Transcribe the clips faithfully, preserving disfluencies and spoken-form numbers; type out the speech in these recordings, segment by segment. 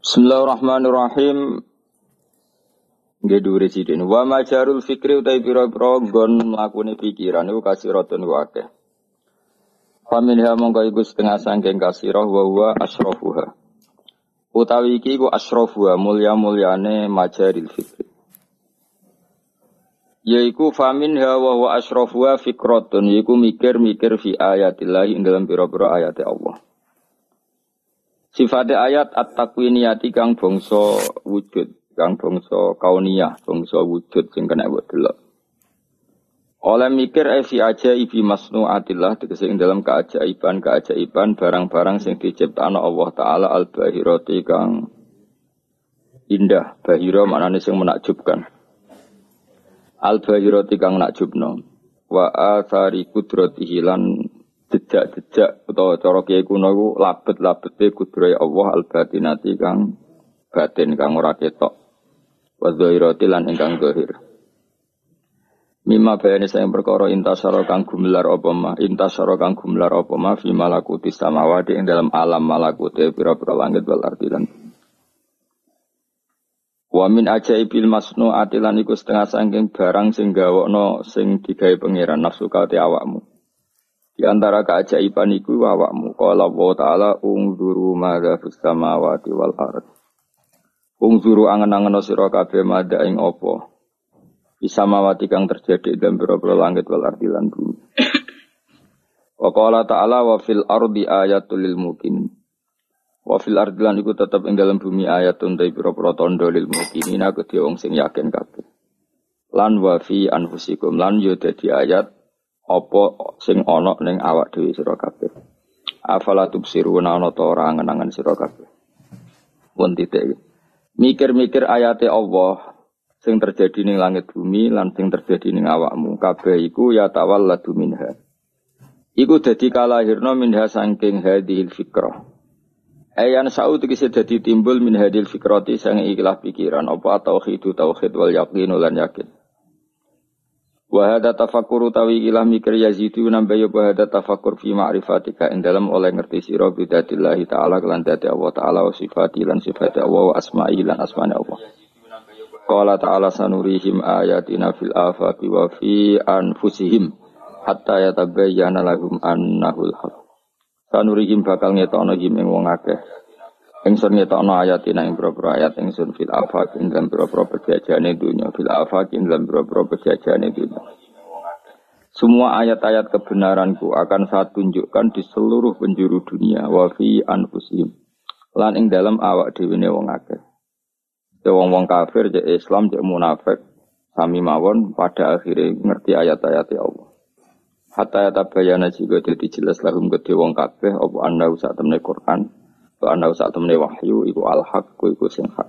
Bismillahirrahmanirrahim. Nggih dhuwure sidin. Wa majarul fikri utai pira-pira nggon mlakune pikiran iku kasiratun wa akeh. Faminha mongko iku setengah sangking kasirah wa huwa asrafuha. Utawi iki iku asrafuha mulya-mulyane majaril fikri. Yaiku faminha wa huwa asrafuha fikratun yaiku mikir-mikir fi ayatillah ing dalam pira-pira ayat Allah. Sifat ayat at-takwiniyati kang bangsa wujud, kang bangsa kauniyah, bangsa wujud sing kena mbok delok. Oleh mikir e fi ajaibi masnuatillah tegese ing dalam keajaiban-keajaiban barang-barang sing diciptakno Allah taala al-bahirati kang indah, bahira maknane sing menakjubkan. Al-bahirati kang nakjubno. Wa athari qudratihi lan jejak-jejak utawa cara kiai kuno iku labet-labete kudrohe Allah al-batinati kang batin kang ora ketok. Wa dzahirati lan ingkang zahir. Mimma bayane sayang perkara intasara kang gumelar apa mah intasara kang gumelar apa mah fi malakuti samawati ing dalam alam malakute pira-pira langit wal ardi lan wa min ajaibil masnu'ati lan iku setengah saking barang sing gawokno sing digawe pangeran nafsu kate awakmu. Di antara keajaiban iku awakmu qala Allah taala ungzuru madza fis samawati wal ardh. Ungzuru angen-angen sira kabeh madza ing apa fis samawati kang terjadi dalam pira-pira langit wal ardh lan bumi. Wa qala ta'ala wa fil ardi ayatul lil muqinin. Wa fil ardi lan iku tetep ing dalam bumi ayatun ta pira-pira tandha lil muqinin kedhe wong sing yakin kabeh. Lan wa fi anfusikum lan yo dadi ayat apa sing ana ning awak dhewe sira kabeh. Afala tubsiruna ana ta ora angen-angen sira kabeh. Pun titik. Mikir-mikir ayate Allah sing terjadi ning langit bumi lan sing terjadi ning awakmu kabeh iku ya tawalladu minha. Iku dadi kalahirna minha saking hadhil fikrah. Ayan saud iki dadi timbul min hadhil fikrati sang ikhlas pikiran apa tauhid tauhid wal yaqin lan yakin. Wa hadza tafakkur tawi ilah mikir yazidu nambah ya wa hadza tafakkur fi ma'rifatika ing dalam oleh ngerti sira bidatillah taala lan dadi Allah taala wa sifati lan sifat Allah wa asma'i lan asmane Allah. Qala ta'ala sanurihim ayatina fil afaqi wa fi anfusihim hatta yatabayyana lahum annahul haq. Sanurihim bakal ngetokno him ing wong akeh. Ingsun ngetokno ayatina ing boro-boro ayat ingsun fil afaq ing dalam boro-boro pejajane dunya fil afaq ing dalam boro-boro pejajane dunya. Semua ayat-ayat kebenaranku akan saya tunjukkan di seluruh penjuru dunia wa fi anfusihim. Lan ing dalam awak dhewe ne wong akeh. Wong-wong kafir jek Islam jek munafik sami mawon pada akhirnya ngerti ayat-ayat Allah. Hatta yatabayana jika dadi jelas lahum kedhe wong kabeh apa ana sak temne Quran. Ana sak temene wahyu iku al-haq iku sing hak.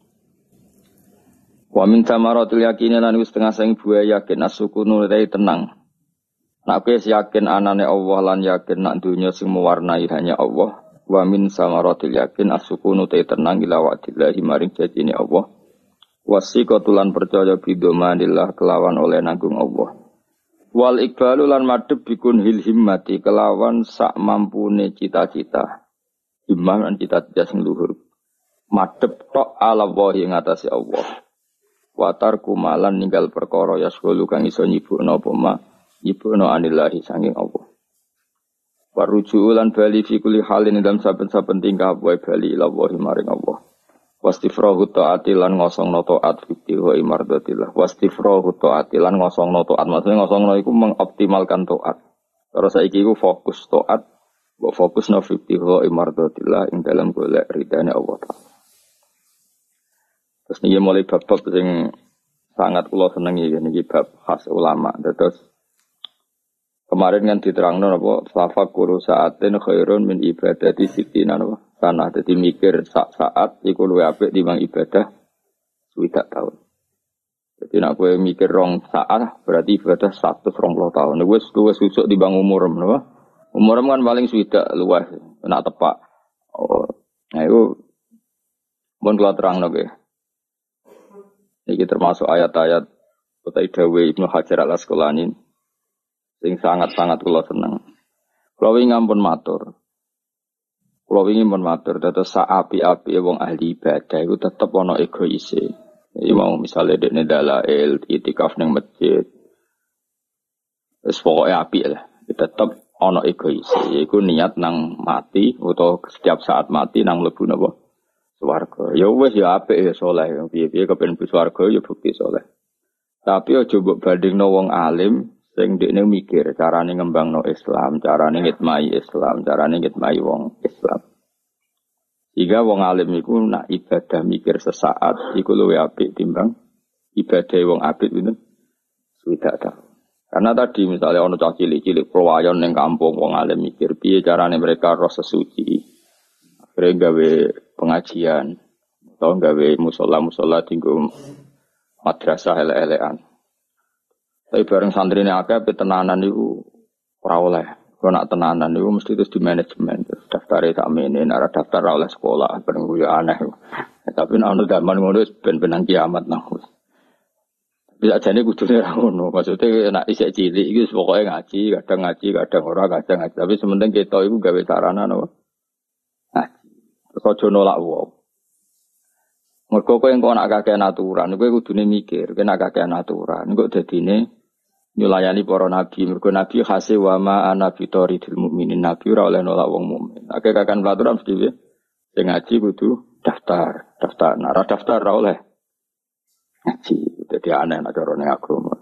Wa min tamaratil yakin lan wis setengah sing buah yakin asukunu rai tenang. Nek wis yakin anane Allah lan yakin nak dunya sing mewarnai hanya Allah. Wa min samaratil yakin asukunu rai tenang ila wa'dillahi maring janjine Allah. Wasiqatulan percaya bidomanillah kelawan oleh nanggung Allah. Wal iqbalu lan madhep bikun hil himmati kelawan sak mampune cita-cita. Himmah lan cita-cita sing luhur. Madhep tok ala wa ing atase Allah. Watar kumalan ninggal perkara yasghulu kang iso nyibukno apa ma nyibukno anillahi sanging Allah. Waruju lan bali fi kulli halin dalam saben-saben tingkah wae bali ila wa maring Allah. Wastifrahu ta'ati lan ngosongno ta'at fi wa imardatillah. Wastifrahu ta'ati lan ngosongno ta'at maksudnya ngosongno iku mengoptimalkan ta'at. Terus saiki iku fokus ta'at wa fokus na fi ibtigha imardatillah ing dalam golek ridane Allah Taala. Terus niki mulai bab-bab sing sangat kula senengi niki bab khas ulama. Terus kemarin kan diterangno napa tafakkur saatin khairun min ibadati sittina napa. Sana dadi mikir sak saat iku luwih apik timbang ibadah swidak tahun. Jadi nek kowe mikir rong saat berarti ibadah seratus dua puluh tahun. Wis luwih susuk timbang umur napa. Umur kan paling swidak luwih nak tepak. Oh, nah itu mun kula terangno nggih. Iki termasuk ayat-ayat utai dawuh Ibnu Hajar Al-Asqalani sing sangat-sangat kula seneng. Kula wingi ngampun matur. Kalau ingin menmatur, terus api-api wong ahli ibadah itu tetap ono egoise. Jadi mau misalnya dekne dalail, itikaf nang masjid, terus pokoknya api lah. Tetap ono egoise. Iku niat nang mati atau setiap saat mati nang mlebu napa swarga. Ya wis ya apik ya saleh. Piye-piye kepen mlebu swarga ya bukti saleh. Tapi aja mbok bandingno wong alim sing dekne mikir carane ngembangno Islam, carane ngitmai Islam, carane ngitmai wong Islam. Jika wong alim iku nak ibadah mikir sesaat iku luwih apik timbang ibadah wong apik pinten swidak ta. Karena tadi misalnya ono cah cilik-cilik perwayon ning kampung wong alim mikir piye carane mereka roh sesuci. Akhirnya gawe pengajian atau gawe musola-musola tinggu madrasah ele-elean. Tapi bareng santri ini akeh tenanan itu ora oleh. Kalau nak tenanan itu mesti terus di manajemen. Daftar tak mene, nara daftar oleh sekolah bareng kuwi aneh. Tapi nak ono zaman ngono ben-benan kiamat nang. Bisa jane kudune ra ngono. Maksudnya nak isih cilik iki pokoke ngaji, kadang ngaji, kadang ora, kadang ngaji. Tapi sementing kita iku gawe sarana napa? Ngaji. Terus aja nolak wong. Mergo kowe engko nak kakean aturan, kowe kudune mikir, kowe nak kakean aturan, engko dadine nyulayani para nabi, mergo nabi khase wa ma ana fitoridil mukminin, nabi ora oleh nolak wong mukmin. Akeh kakean aturan mesti piye? Sing ngaji kudu daftar, daftar, nak ora daftar ora oleh ngaji. Dadi aneh nek carane agama.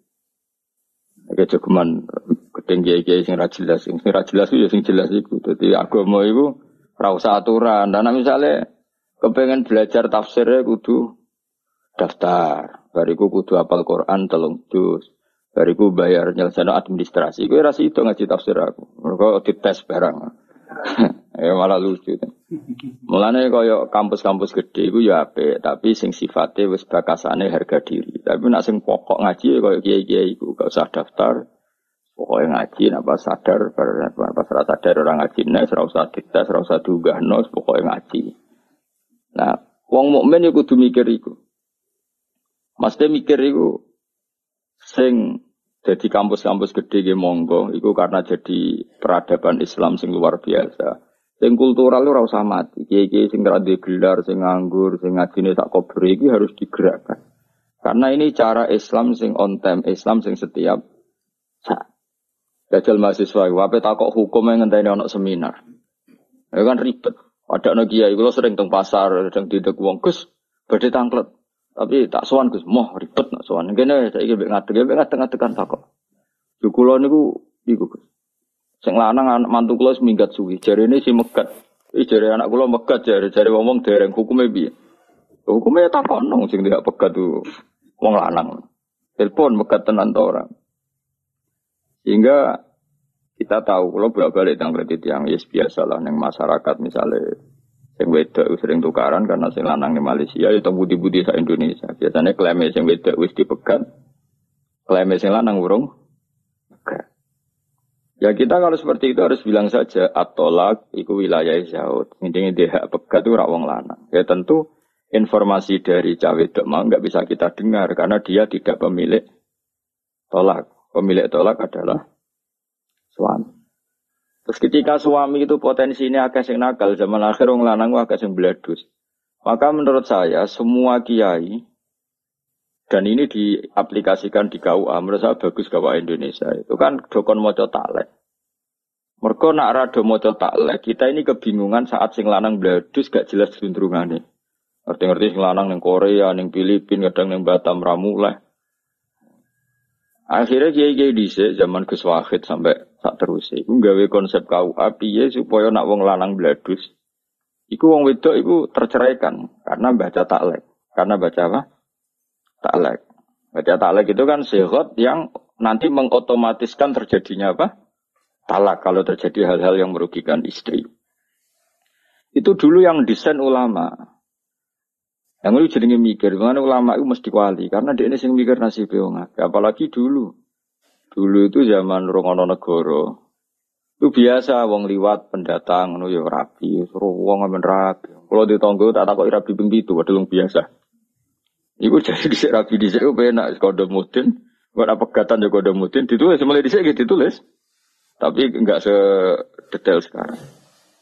Iki cukuman ketinggi-tinggi sing ra jelas, sing ra jelas ya sing jelas iku. Dadi agama iku ora usah aturan. Dan misale kepengen belajar tafsirnya kudu daftar. Bariku kudu hafal Quran telung juz. Bariku bayar nyelesaikan administrasi. Gue rasa itu ngaji tafsir aku. Mereka dites barang. Ya malah lucu. Mulane kaya kampus-kampus gede iku ya apik, tapi sing sifate wis bakasane harga diri. Tapi nek sing pokok ngaji kaya kiai-kiai iku gak usah daftar. Pokoke ngaji nek pas sadar, pas ora sadar ora ngaji nek ora usah dites, ora usah diunggahno, pokoke ngaji. Nah, wong mukmin iku kudu mikir iku. Mesti mikir iku sing jadi kampus-kampus gede ge monggo iku karena jadi peradaban Islam sing luar biasa. Sing kultural ora usah mati. Kiai-kiai sing ra duwe gelar, sing nganggur, sing ngajine sak kober iki harus digerakkan. Karena ini cara Islam sing on time, Islam sing setiap saat. Dajal mahasiswa, wae takok hukum yang ngenteni ana seminar. Ya kan ribet. Ada anak kiai, kalau sering teng pasar, sering didek wong Gus, badhe tangklet. Tapi tak sowan Gus, moh ribet nak sowan. Kene saiki mek ngadeg, mek ngadeg-ngadegan takok. Yo kula niku iku Gus. Sing lanang anak mantu kula wis minggat suwi, jarene si megat. Iki jare anak kula megat jare jare ngomong dereng hukume piye? Hukume takokno sing tidak pegat tu wong lanang. Telepon megat tenan to ora. Sehingga kita tahu kalau bolak-balik tentang kredit yang yes biasalah yang masyarakat misalnya yang wedok sering tukaran karena sing lanang di Malaysia itu budi-budi sa Indonesia. Biasanya klaim sing wedok wis dipegat, klaim sing lanang urung. Ya kita kalau seperti itu harus bilang saja at-tolak iku wilayah Zaud. Intinya dia hak pegat itu rak wong lanang. Ya tentu informasi dari cawe wedok mau enggak bisa kita dengar karena dia tidak pemilik tolak. Pemilik tolak adalah suami. Terus ketika suami itu potensinya agak sing nakal, zaman akhir wong lanang agak sing bledus. Maka menurut saya semua kiai dan ini diaplikasikan di K U A, menurut saya bagus K U A Indonesia. Itu kan dokon maca taklek. Mergo nak rada maca taklek, kita ini kebingungan saat sing lanang bledus gak jelas cenderungane. Ngerti-ngerti sing lanang ning Korea, ning Filipina, kadang ning Batam ra muleh. Akhirnya kiai-kiai dhisik zaman Gus Wahid sampai sak terus iku gawe konsep K U A piye supaya nak wong lanang bledus iku wong wedok iku terceraikan karena baca taklek. Karena baca apa? Taklek. Baca taklek itu kan sighot yang nanti mengotomatiskan terjadinya apa? Talak kalau terjadi hal-hal yang merugikan istri. Itu dulu yang desain ulama. Yang lu jenenge mikir, mana ulama itu mesti wali karena dia ini sing mikir nasib wong akeh. Apalagi dulu. Dulu itu zaman Rongono Negoro. Itu biasa wong liwat pendatang ngono ya rapi, suruh wong men rapi. Kalau ditonggo tak takoki rapi ping pitu padahal biasa. Iku jadi dhisik rapi dhisik ku penak kode mudin, kok ana pegatan ya kode mudin ditulis mulai dhisik gitu ditulis. Tapi enggak sedetail sekarang.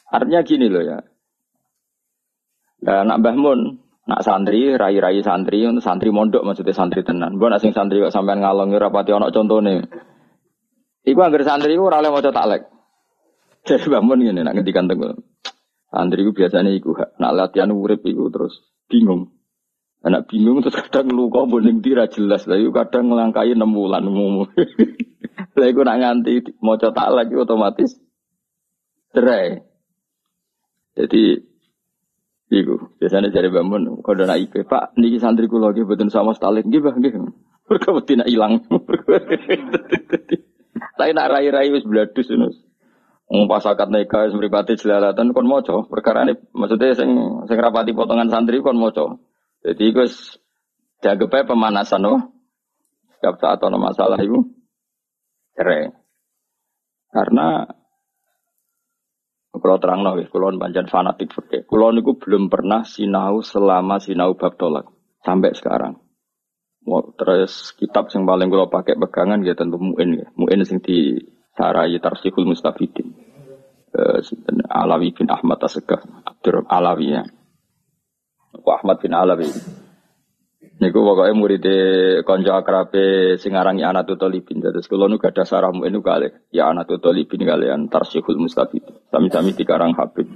Artinya gini loh ya. Nah, nak Mbah Mun, nak santri, rai-rai santri, untuk santri mondok maksudnya santri tenan. Mbok nak sing santri kok sampean ngalongi rapati ana contone. Iku anggere santri iku ora oleh maca taklek. Jadi Mbah Mun ngene nak ngendikan tenggo. Santri iku biasane iku nak latihan urip iku terus bingung. Anak bingung terus kadang luka boning ndi ra jelas. Lah iku kadang nglangkai enam wulan umum. Lah iku nak nganti maca taklek iku otomatis cerai. Jadi iku biasanya dari bangun kalau nak I P Pak niki santri kula nggih mboten sama stalik nggih Mbah nggih. Mergo wedi nak ilang. Tapi nak rai-rai wis bladus ngono. Wong pas akad nikah wis mripate jelalatan kon maca perkarane maksudnya sing sing rapati potongan santri kon maca. Jadi iku wis dianggep pemanasan oh. Setiap saat ana masalah iku cerai. Karena kalau terang nol, kalau panjang fanatik fikih. Kalau niku belum pernah sinau selama sinau bab tolak sampai sekarang. Terus kitab yang paling kalau pakai pegangan ya tentu Mu'in ya. Mu'in sing di sarai Tarsihul Mustafidin. Eh, Alawi bin Ahmad As-Segaf, Abdur Alawi ya. Ahmad bin Alawi. Niku pokoknya murid konco akrabe sing arangi Anatul Talibin. Terus kula nu gadah sarah Mu'in nu kalih ya Anatul Talibin kalian Tarsihul Mustafid. Sami-sami dikarang Habib.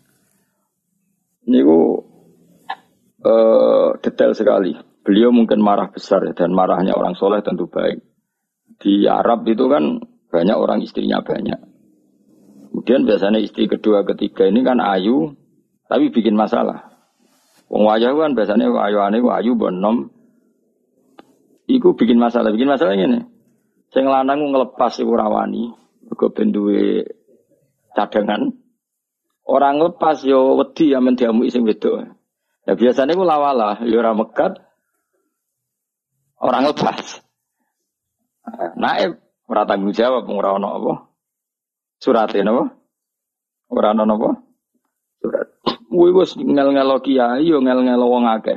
Niku uh, detail sekali. Beliau mungkin marah besar dan marahnya orang soleh tentu baik. Di Arab itu kan banyak orang istrinya banyak. Kemudian biasanya istri kedua ketiga ini kan ayu tapi bikin masalah. Wong wayah kan biasanya wayuane wayu bonom. Iku bikin masalah, bikin masalah ngene. Sing lanang ngelepas iku rawani, mergo ben duwe cadangan. Orang lepas yo wedi amen diamuki sing wedok. Ya biasanya ku lawalah, yo ora mekat. Orang lepas. Naib ora tanggung jawab ora ono apa? Surate napa? Ora ono napa? Surat. Kuwi wis ngel-ngelo kiai yo ngel-ngelo wong akeh.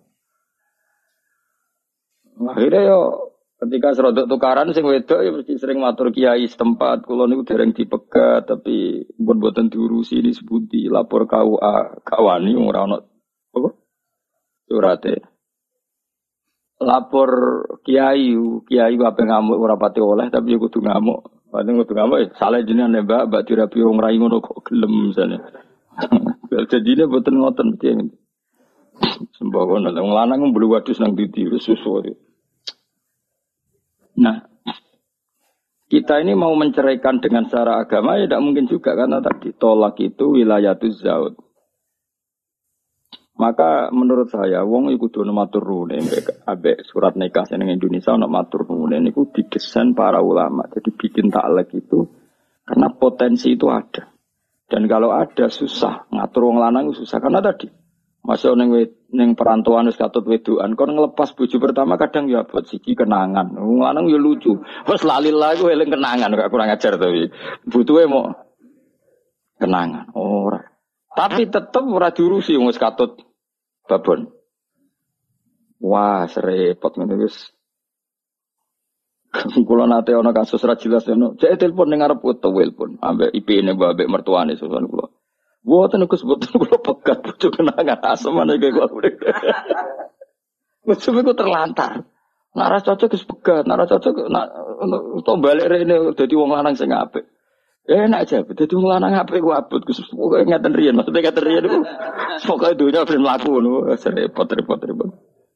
Akhirnya yo ketika serodok tukaran sing wedok ya mesti sering matur kiai setempat kula niku dereng dipegat tapi pun boten diurusi disebuti lapor K U A kawani ora ono apa surate. Lapor kiai kiai ku ape ngamuk ora pati oleh tapi yo kudu ngamuk. Paling kudu ngamuk ya salah jenenge Mbak Mbak dirabi wong rai ngono kok gelem misale. Jadinya boten ngoten mesti. Sembakono wong lanang mblu wadus nang didi susu. Nah, kita ini mau menceraikan dengan secara agama ya tidak mungkin juga karena tadi tolak itu wilayatuz zaud. Maka menurut saya wong iku kudu matur nuwun ambek surat nikah ning Indonesia ana matur nuwun niku didesain para ulama. Jadi bikin taklek itu karena potensi itu ada. Dan kalau ada susah ngatur wong lanang susah karena tadi masuk ning ning perantauan wis katut wedokan kon ngelepas bojo pertama kadang ya buat siji kenangan. Wong lanang ya lucu. Wes lali lah iku eling kenangan gak kurang ajar to iki. Butuhe mau kenangan ora. Tapi tetep ora diurusi wong wis katut babon. Wah, serepot ngene wis. Kula nate ana kasus ra jelas ngono. Cek telepon ning arep foto telepon ambek I P-ne ambek mertuane susun kula. Mboten Gus mboten kula pegat bojo kenangan asmane kaya kula. Wis ku terlantar. Nek ora cocok Gus pegat, nek ora cocok nek to balik rene dadi wong lanang sing apik. Enak aja, dadi wong lanang apik ku abot Gus pokoke ngeten riyen, maksudnya ngeten riyen iku pokoke dunya ben mlaku ngono, repot repot repot.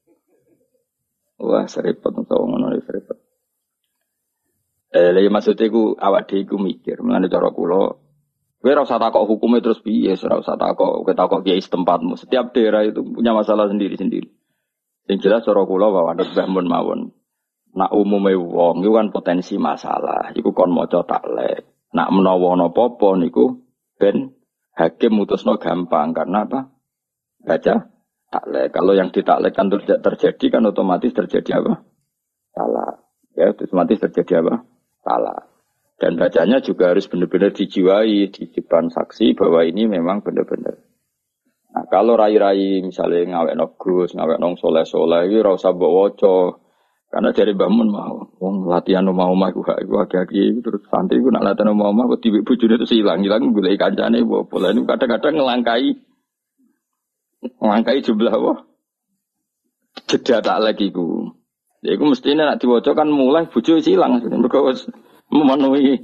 Wah, serepot to ngono repot. Eh, lha maksudnya ku awak dhewe iku mikir, menane cara kula kowe ora usah takok hukume terus piye, ora usah takok kowe takok kiai setempatmu. Setiap daerah itu punya masalah sendiri-sendiri. Yang jelas cara kula bahwa Mbah Mun mawon. Nak umume wong iku kan potensi masalah, iku kon maca taklek. Nak menawa ana apa-apa niku ben hakim mutusno gampang karena apa? Baca taklek. Kalau yang ditaklekkan terjadi kan otomatis terjadi apa? Salah. Ya, otomatis terjadi apa? Salah. Dan bacanya juga harus benar-benar dijiwai di depan saksi bahwa ini memang benar-benar. Nah, kalau rai-rai misalnya ngawek no gus, ngawek nong soleh-soleh, itu ora usah mbok waca. Karena dari bangun mau, wong latihan mau omah iku gak iku agak-agak terus santri iku nak latihan mau omah kok diwek bojone terus ilang, ilang golek kancane apa pola niku kadang-kadang ngelangkai ngelangkai jumlah wah. Jeda tak lagi ku. Ya iku mestine nek diwaca kan mulai bojo wis ilang mergo wis memenuhi.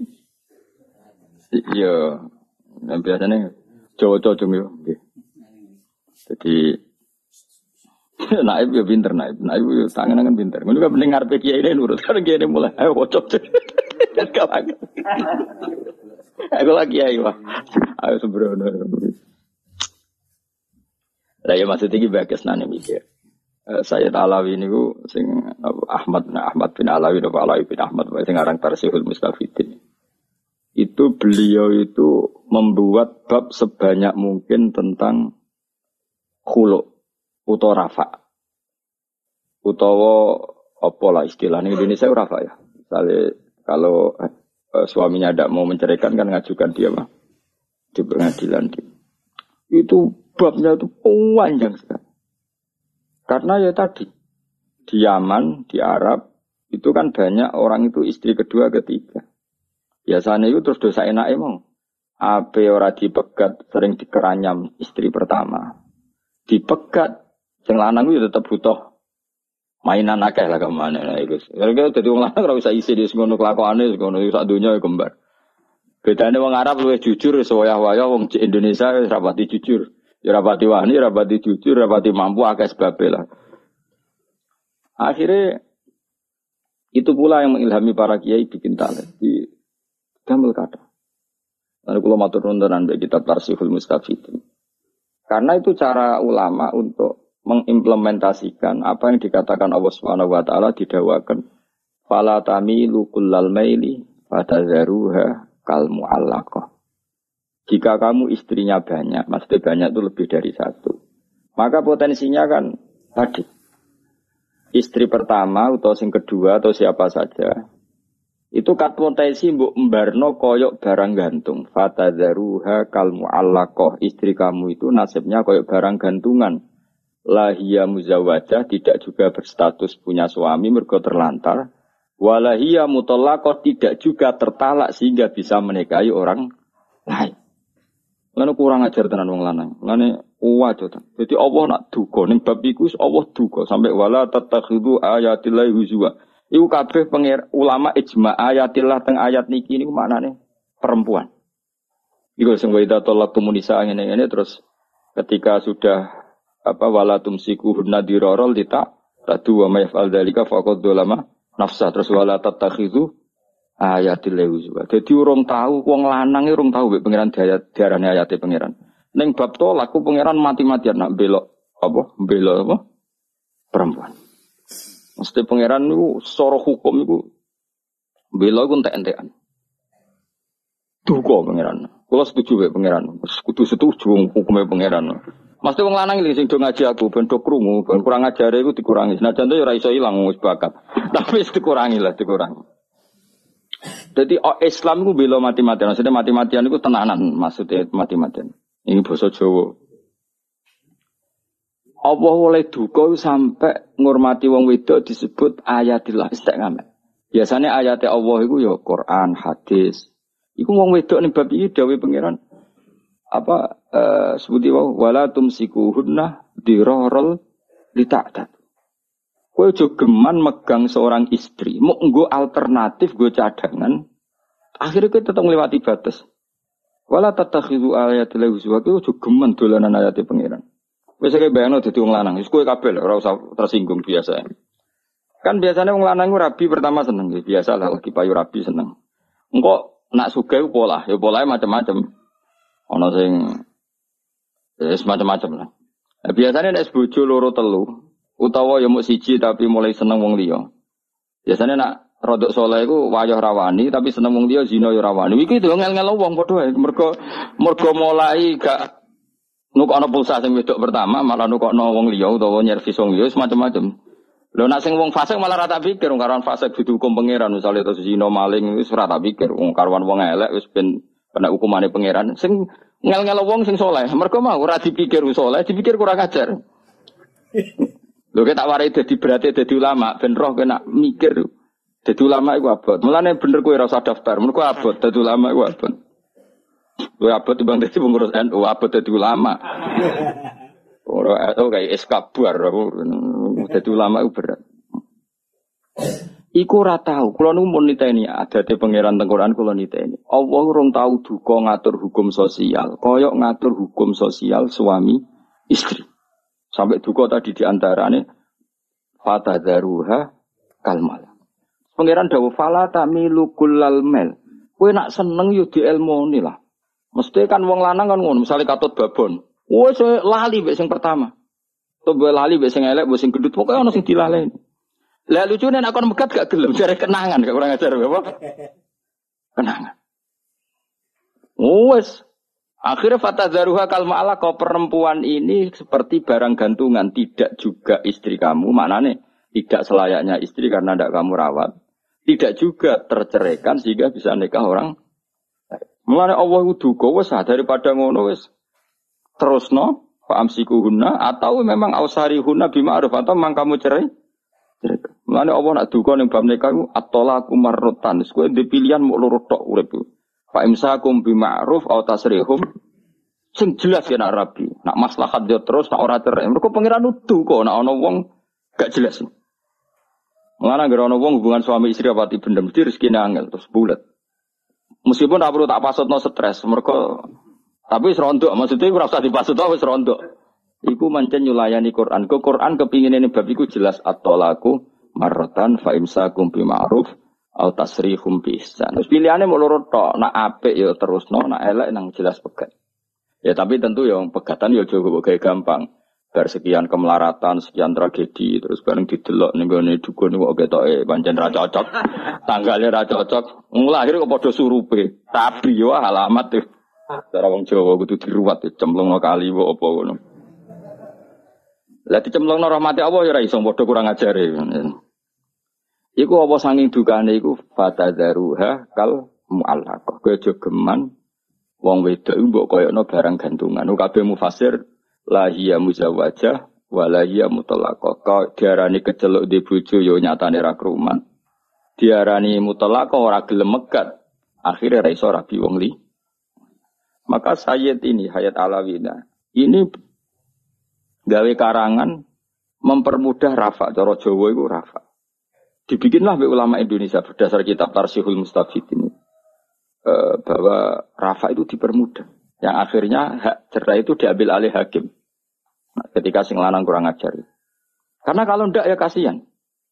Iya. Nah, biasanya Jawa-Jawa yo nggih. Jadi naib ya pinter, naib, naib ya tangan-tangan pinter. Ngono kan penting ngarepe kiai ini nurut. Kan kiai ini mulai ayo wocok. Kawan. Aku lagi kiai wah. Ayo sembrono. Lah ya maksud iki bagus nane mikir. Saya Alawi niku sing Ahmad nah Ahmad bin Alawi atau Alawi bin Ahmad sing aran Tarsihul Mustafidin. Itu beliau itu membuat bab sebanyak mungkin tentang khulu utawa rafa. Utawa apa lah istilahnya Indonesia rafa ya. Misalnya kalau eh, suaminya tidak mau menceraikan kan ngajukan dia mah di pengadilan. Itu babnya itu panjang sekali. Karena ya tadi di Yaman, di Arab itu kan banyak orang itu istri kedua, ketiga. Biasanya itu terus dosa enak emang. Ape ora dipegat sering dikeranyam istri pertama. Dipegat sing lanang itu tetap butuh mainan akeh lah kemana lah itu. Karena jadi wong lanang ora usah isi di ngono kelakuane ngono sak donya kembar. Bedane wong Arab luwih jujur sewayah-wayah wong Indonesia wis rapati jujur. Ya rapati wani, rapati jujur, rapati mampu akeh sebabe lah. Akhirnya itu pula yang mengilhami para kiai bikin talent di Damel kata. Lalu kalau matur nuwun mbek kitab Tarsihul Mustafidin. Karena itu cara ulama untuk mengimplementasikan apa yang dikatakan Allah Subhanahu wa taala didakwakan fala tamilu kullal maili fatadharuha kal muallaqah. Jika kamu istrinya banyak, maksudnya banyak itu lebih dari satu. Maka potensinya kan tadi istri pertama atau sing kedua atau siapa saja itu kat potensi mbok mbarno koyok barang gantung. Fatadharuha kal muallaqah. Istri kamu itu nasibnya koyok barang gantungan. Lahia muzawwajah, tidak juga berstatus punya suami mergo terlantar. Walahia mutallaqah, tidak juga tertalak sehingga bisa menikahi orang lain. Lan kurang ajar tenan wong lanang. Lane wajo ta. Dadi Allah nak duka ning bab iku Allah duka sampai wala tatakhidu ayatillahi huzwa. Iku kabeh pengir ulama ijma ayatillah teng ayat niki niku maknane perempuan. Iku sing wa idza talaqtum nisa ngene-ngene terus ketika sudah apa wala tumsiku nadirarul dita tadu wa mayfal dzalika faqad dolama nafsa terus wala tatakhidu ayatil huzwa. Dadi urung tahu wong lanang urung tahu mek pangeran diarani ayate pangeran. Ning bab tolak ku pangeran mati-matian nak belok apa? Belok apa? Perempuan. Mesti pangeran niku secara hukum niku belok ku entek-entekan. Duka pangeran. Kula setuju mek pangeran. Kudu setuju hukume pangeran. Mesti wong lanang iki sing do ngaji aku ben do krungu, ben kurang ajare iku dikurangi. Senajan to ya ora iso ilang wis bakat. Tapi wis dikurangi lah, dikurangi. Jadi oh, Islam itu bela mati-matian. Maksudnya mati-matian itu tenanan. Maksudnya mati-matian. Ini bahasa Jawa. Allah oleh duka sampai ngurmati wong wedok disebut ayatillah istiqamah. Biasanya ayatnya Allah itu ya Quran, hadis. Iku wong wedok ning bab iki dawuh pangeran apa uh, sebuti wae wala tumsikuhunna dirarul lita'tat. Kowe aja geman megang seorang istri, mau nggo alternatif, nggo cadangan. Akhirnya kowe tetep ngliwati batas. Wala tatakhidu ayatil huzwa, kowe aja geman dolanan ayate pangeran. Wis kaya bayangno dadi wong lanang, wis kowe kabeh ora usah tersinggung biasa. Kan biasanya wong lanang ku rabi pertama seneng, biasa lah lagi payu rabi seneng. Engko nak sugih pola, ya polahe macam-macam. Ana sing wis macam-macam lah. Nah, biasanya nek bojo loro telu utawa ya mung siji tapi mulai seneng wong liya. Biasane nak rodok saleh iku wayah rawani tapi seneng wong liya zina ya rawani. Iki lho ngel-ngel wong padha ae. Mergo mergo mulai gak nukokno pulsa sing wedok pertama malah nukokno wong liya utawa nyervis wong liya semacam-macam. Lho nak sing wong fasik malah ora tak pikir wong karuan fasik dudu hukum pangeran misale terus zina maling wis ora tak pikir wong karuan wong elek wis ben kena hukumane pangeran. Sing ngel-ngel wong sing saleh mergo mau ora dipikir wis saleh dipikir kurang ajar. Lho kita warai dadi berarti dadi ulama ben roh kena mikir. Dadi ulama iku abot. Mulane bener kowe ora usah daftar. Mun kowe abot dadi ulama iku abot. Kowe abot timbang dadi pengurus N U, abot dadi ulama. Ora oh kayak es kabar dadi ulama iku berat. Iku ora tau, kula nu mun niteni adate pangeran teng Quran kula niteni. Allah urung tau duka ngatur hukum sosial, kaya ngatur hukum sosial suami istri. Sampai duka tadi diantarane fatadzaruha kalmal. Pangeran dawuh fala tamilu kullal mel. Kowe nak seneng yo dielmoni lah. Mesti kan wong lanang kan ngono, misale katut babon. Wes lali mbek sing pertama. Tobo lali mbek sing elek, mbek sing gendut, pokoke ana sing dilaleni. Lah lucune nek kon megat gak gelem jare kenangan gak kurang ajar apa? Kenangan. Wes. Akhirnya fatadzaruha kalma'ala kau perempuan ini seperti barang gantungan, tidak juga istri kamu, maknane tidak selayaknya istri karena tidak kamu rawat. Tidak juga terceraikan sehingga bisa nikah orang. Mulane Allah duka wes daripada ngono wes terusno fa amsikuhunna atau memang ausarihunna bima'ruf atau memang kamu cerai. Mulane Allah nak duka ning bab nikah iku at-talaqu marratan. Wis kowe ndek pilihan mok loro tok urip iku. Fa imsakum bima'ruf aw tasrihum. Sing jelas ya nak rabi. Nak maslahat yo terus nak ora cerai. Mergo pangeran nuduh kok nak ana wong gak jelas. Mulane gara ana wong hubungan suami istri apa ti bendem mesti rezekine angel terus bulet. Meskipun ora perlu tak pasutno stres mergo tapi wis rondok maksudnya ora usah dipasutno wis rondok. Iku mancen nyulayani Quran. Ke Quran kepingin ini bab iku jelas at-talaqu marratan fa imsakum bi ma'ruf au tasrihum bi ihsan. Terus pilihane mau loro tok, nak apik ya terusno, nak elek nang jelas pegat. Ya tapi tentu ya pegatan ya aja kok gampang. Bar sekian kemelaratan, sekian tragedi, terus bareng didelok ning gone dukun kok ketoke pancen ra cocok. Tanggale ra cocok. Nglahir kok padha surupe. Tapi yo alamat tuh. Cara wong Jawa kudu diruwat cemplungno kali kok apa ngono. Lah dicemplungno rahmati Allah ya ora iso padha kurang ajare. Iku apa sanging dukane iku fatadzaruha kal mu'allaqah. Kowe aja geman wong wedok iku mbok koyokno barang gantungan. Kabeh mufasir la hiya muzawwajah wa la hiya mutallaqah. Kok diarani keceluk di bojo ya nyatane ra krumat. Diarani mutallaqah ora gelem megat. Akhire ra iso rabi wong li. Maka Sayyid ini Hayat Alawina ini gawe karangan mempermudah rafa, cara Jawa itu rafa. Dibikinlah oleh ulama Indonesia berdasar kitab Tarsihul Mustafid ini e, bahwa rafa itu dipermudah. Yang akhirnya hak cerai itu diambil alih hakim. Nah, ketika sing lanang kurang ajar. Karena kalau ndak ya kasihan.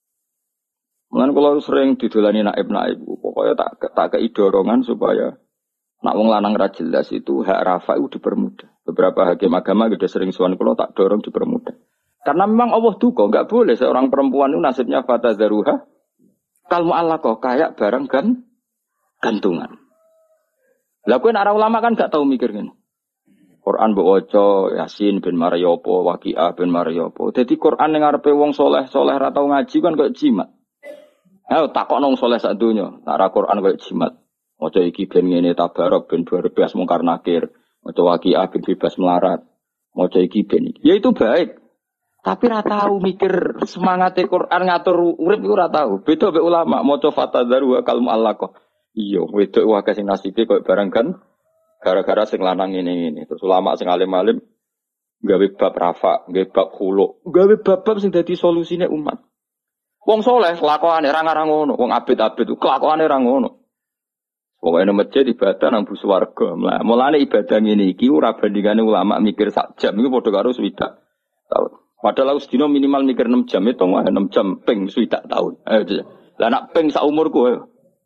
Mulane kalau sering didolani naib-naib, pokoknya tak tak kei dorongan supaya nak wong lanang ra jelas itu hak rafa itu dipermudah. Beberapa hakim agama sudah sering suan kalau tak dorong dipermudah. Karena memang Allah duka, enggak boleh seorang perempuan itu nasibnya fatadzaruha kal mu'allaqah kayak barang kan gantungan. Lah kowe nek ulama kan enggak tahu mikir ngene. Quran mbok waca Yasin ben Mariopo, Waqiah ben Mariopo. Dadi Quran ning ngarepe wong soleh-soleh ra tau ngaji kan koyo jimat. Ayo takokno wong soleh sak donya, nek Quran koyo jimat. Maca iki ben ngene tabarok ben berbebas mungkar nakir. Maca Waqiah ben bebas melarat. Maca iki ben iki. Ya itu baik. Tapi ora tahu mikir semangate Quran ngatur urip iku ora tahu. Beda mek ulama maca fatadzaru kal mu'allaqah. Iya, wedok wae sing nasibe koyo barang kan gara-gara sing lanang ngene-ngene. Terus ulama sing alim-alim gawe bab rafa, gawe bab khulu, gawe bab-bab sing dadi solusine umat. Wong saleh lakone ra ngarang ngono, wong abid-abid ku kelakuane ra ngono. Pokoke nang masjid ibadah nang bus warga. Lah mulane ibadah ngene iki ora bandingane ulama mikir sak jam iku padha karo swidak tahun. Padahal aku sedina minimal mikir enam jam itu mah enam jam ping swidak tahun. Ayo. Lah nak ping sak umurku ayo.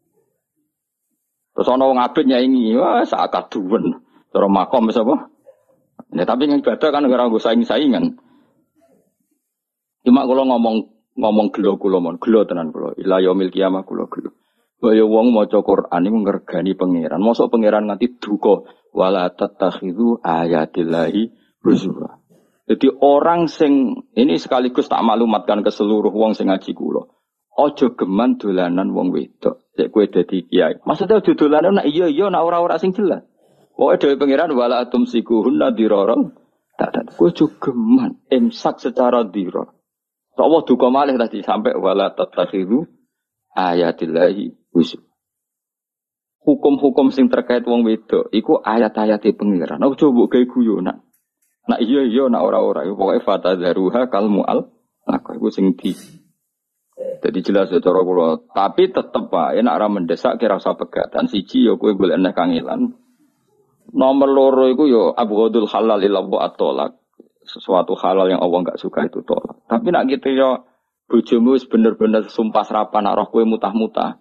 Terus ana wong abid nyaingi, wah sak kaduwen. Cara makom wis apa? Ya tapi yang ibadah kan ora nggo saing-saingan. Cuma kula ngomong ngomong gelo kula mon, gelo tenan kula. Ila yaumil kiamah kula gelo. Kaya wong maca Quran iku ngregani pangeran. Mosok pangeran nganti duka wala tattakhidhu ayatillahi huzwa. Jadi orang sing ini sekaligus tak maklumatkan ke seluruh wong sing ngaji kula. Aja geman dolanan wong wedok. Sik kowe dadi kiai. Maksudnya aja dolanan nek iya iya nek ora-ora sing jelas. Pokoke dhewe pangeran wala tumsikuhunna dirarul. Tak tak kowe aja geman imsak secara dirar. Allah duka malih tadi sampai wala tatakhiru ayatillahi huzwa. Hukum-hukum sing terkait wong wedok iku ayat-ayate pengiran. Aku coba gawe guyonan. Nak iya iya nak ora-ora iku pokoke fatadzaruha kal mual. Aku iku sing di. Jadi jelas ya cara kula, tapi tetep wae nek ora mendesak kira usah pegatan siji ya kowe golek nek kangelan. Nomor loro iku ya abghadul halal ila wa at-thalaq. Sesuatu halal yang Allah enggak suka itu tolak. Tapi nak gitu ya bojomu wis bener-bener sumpah serapan nak roh kowe mutah-mutah.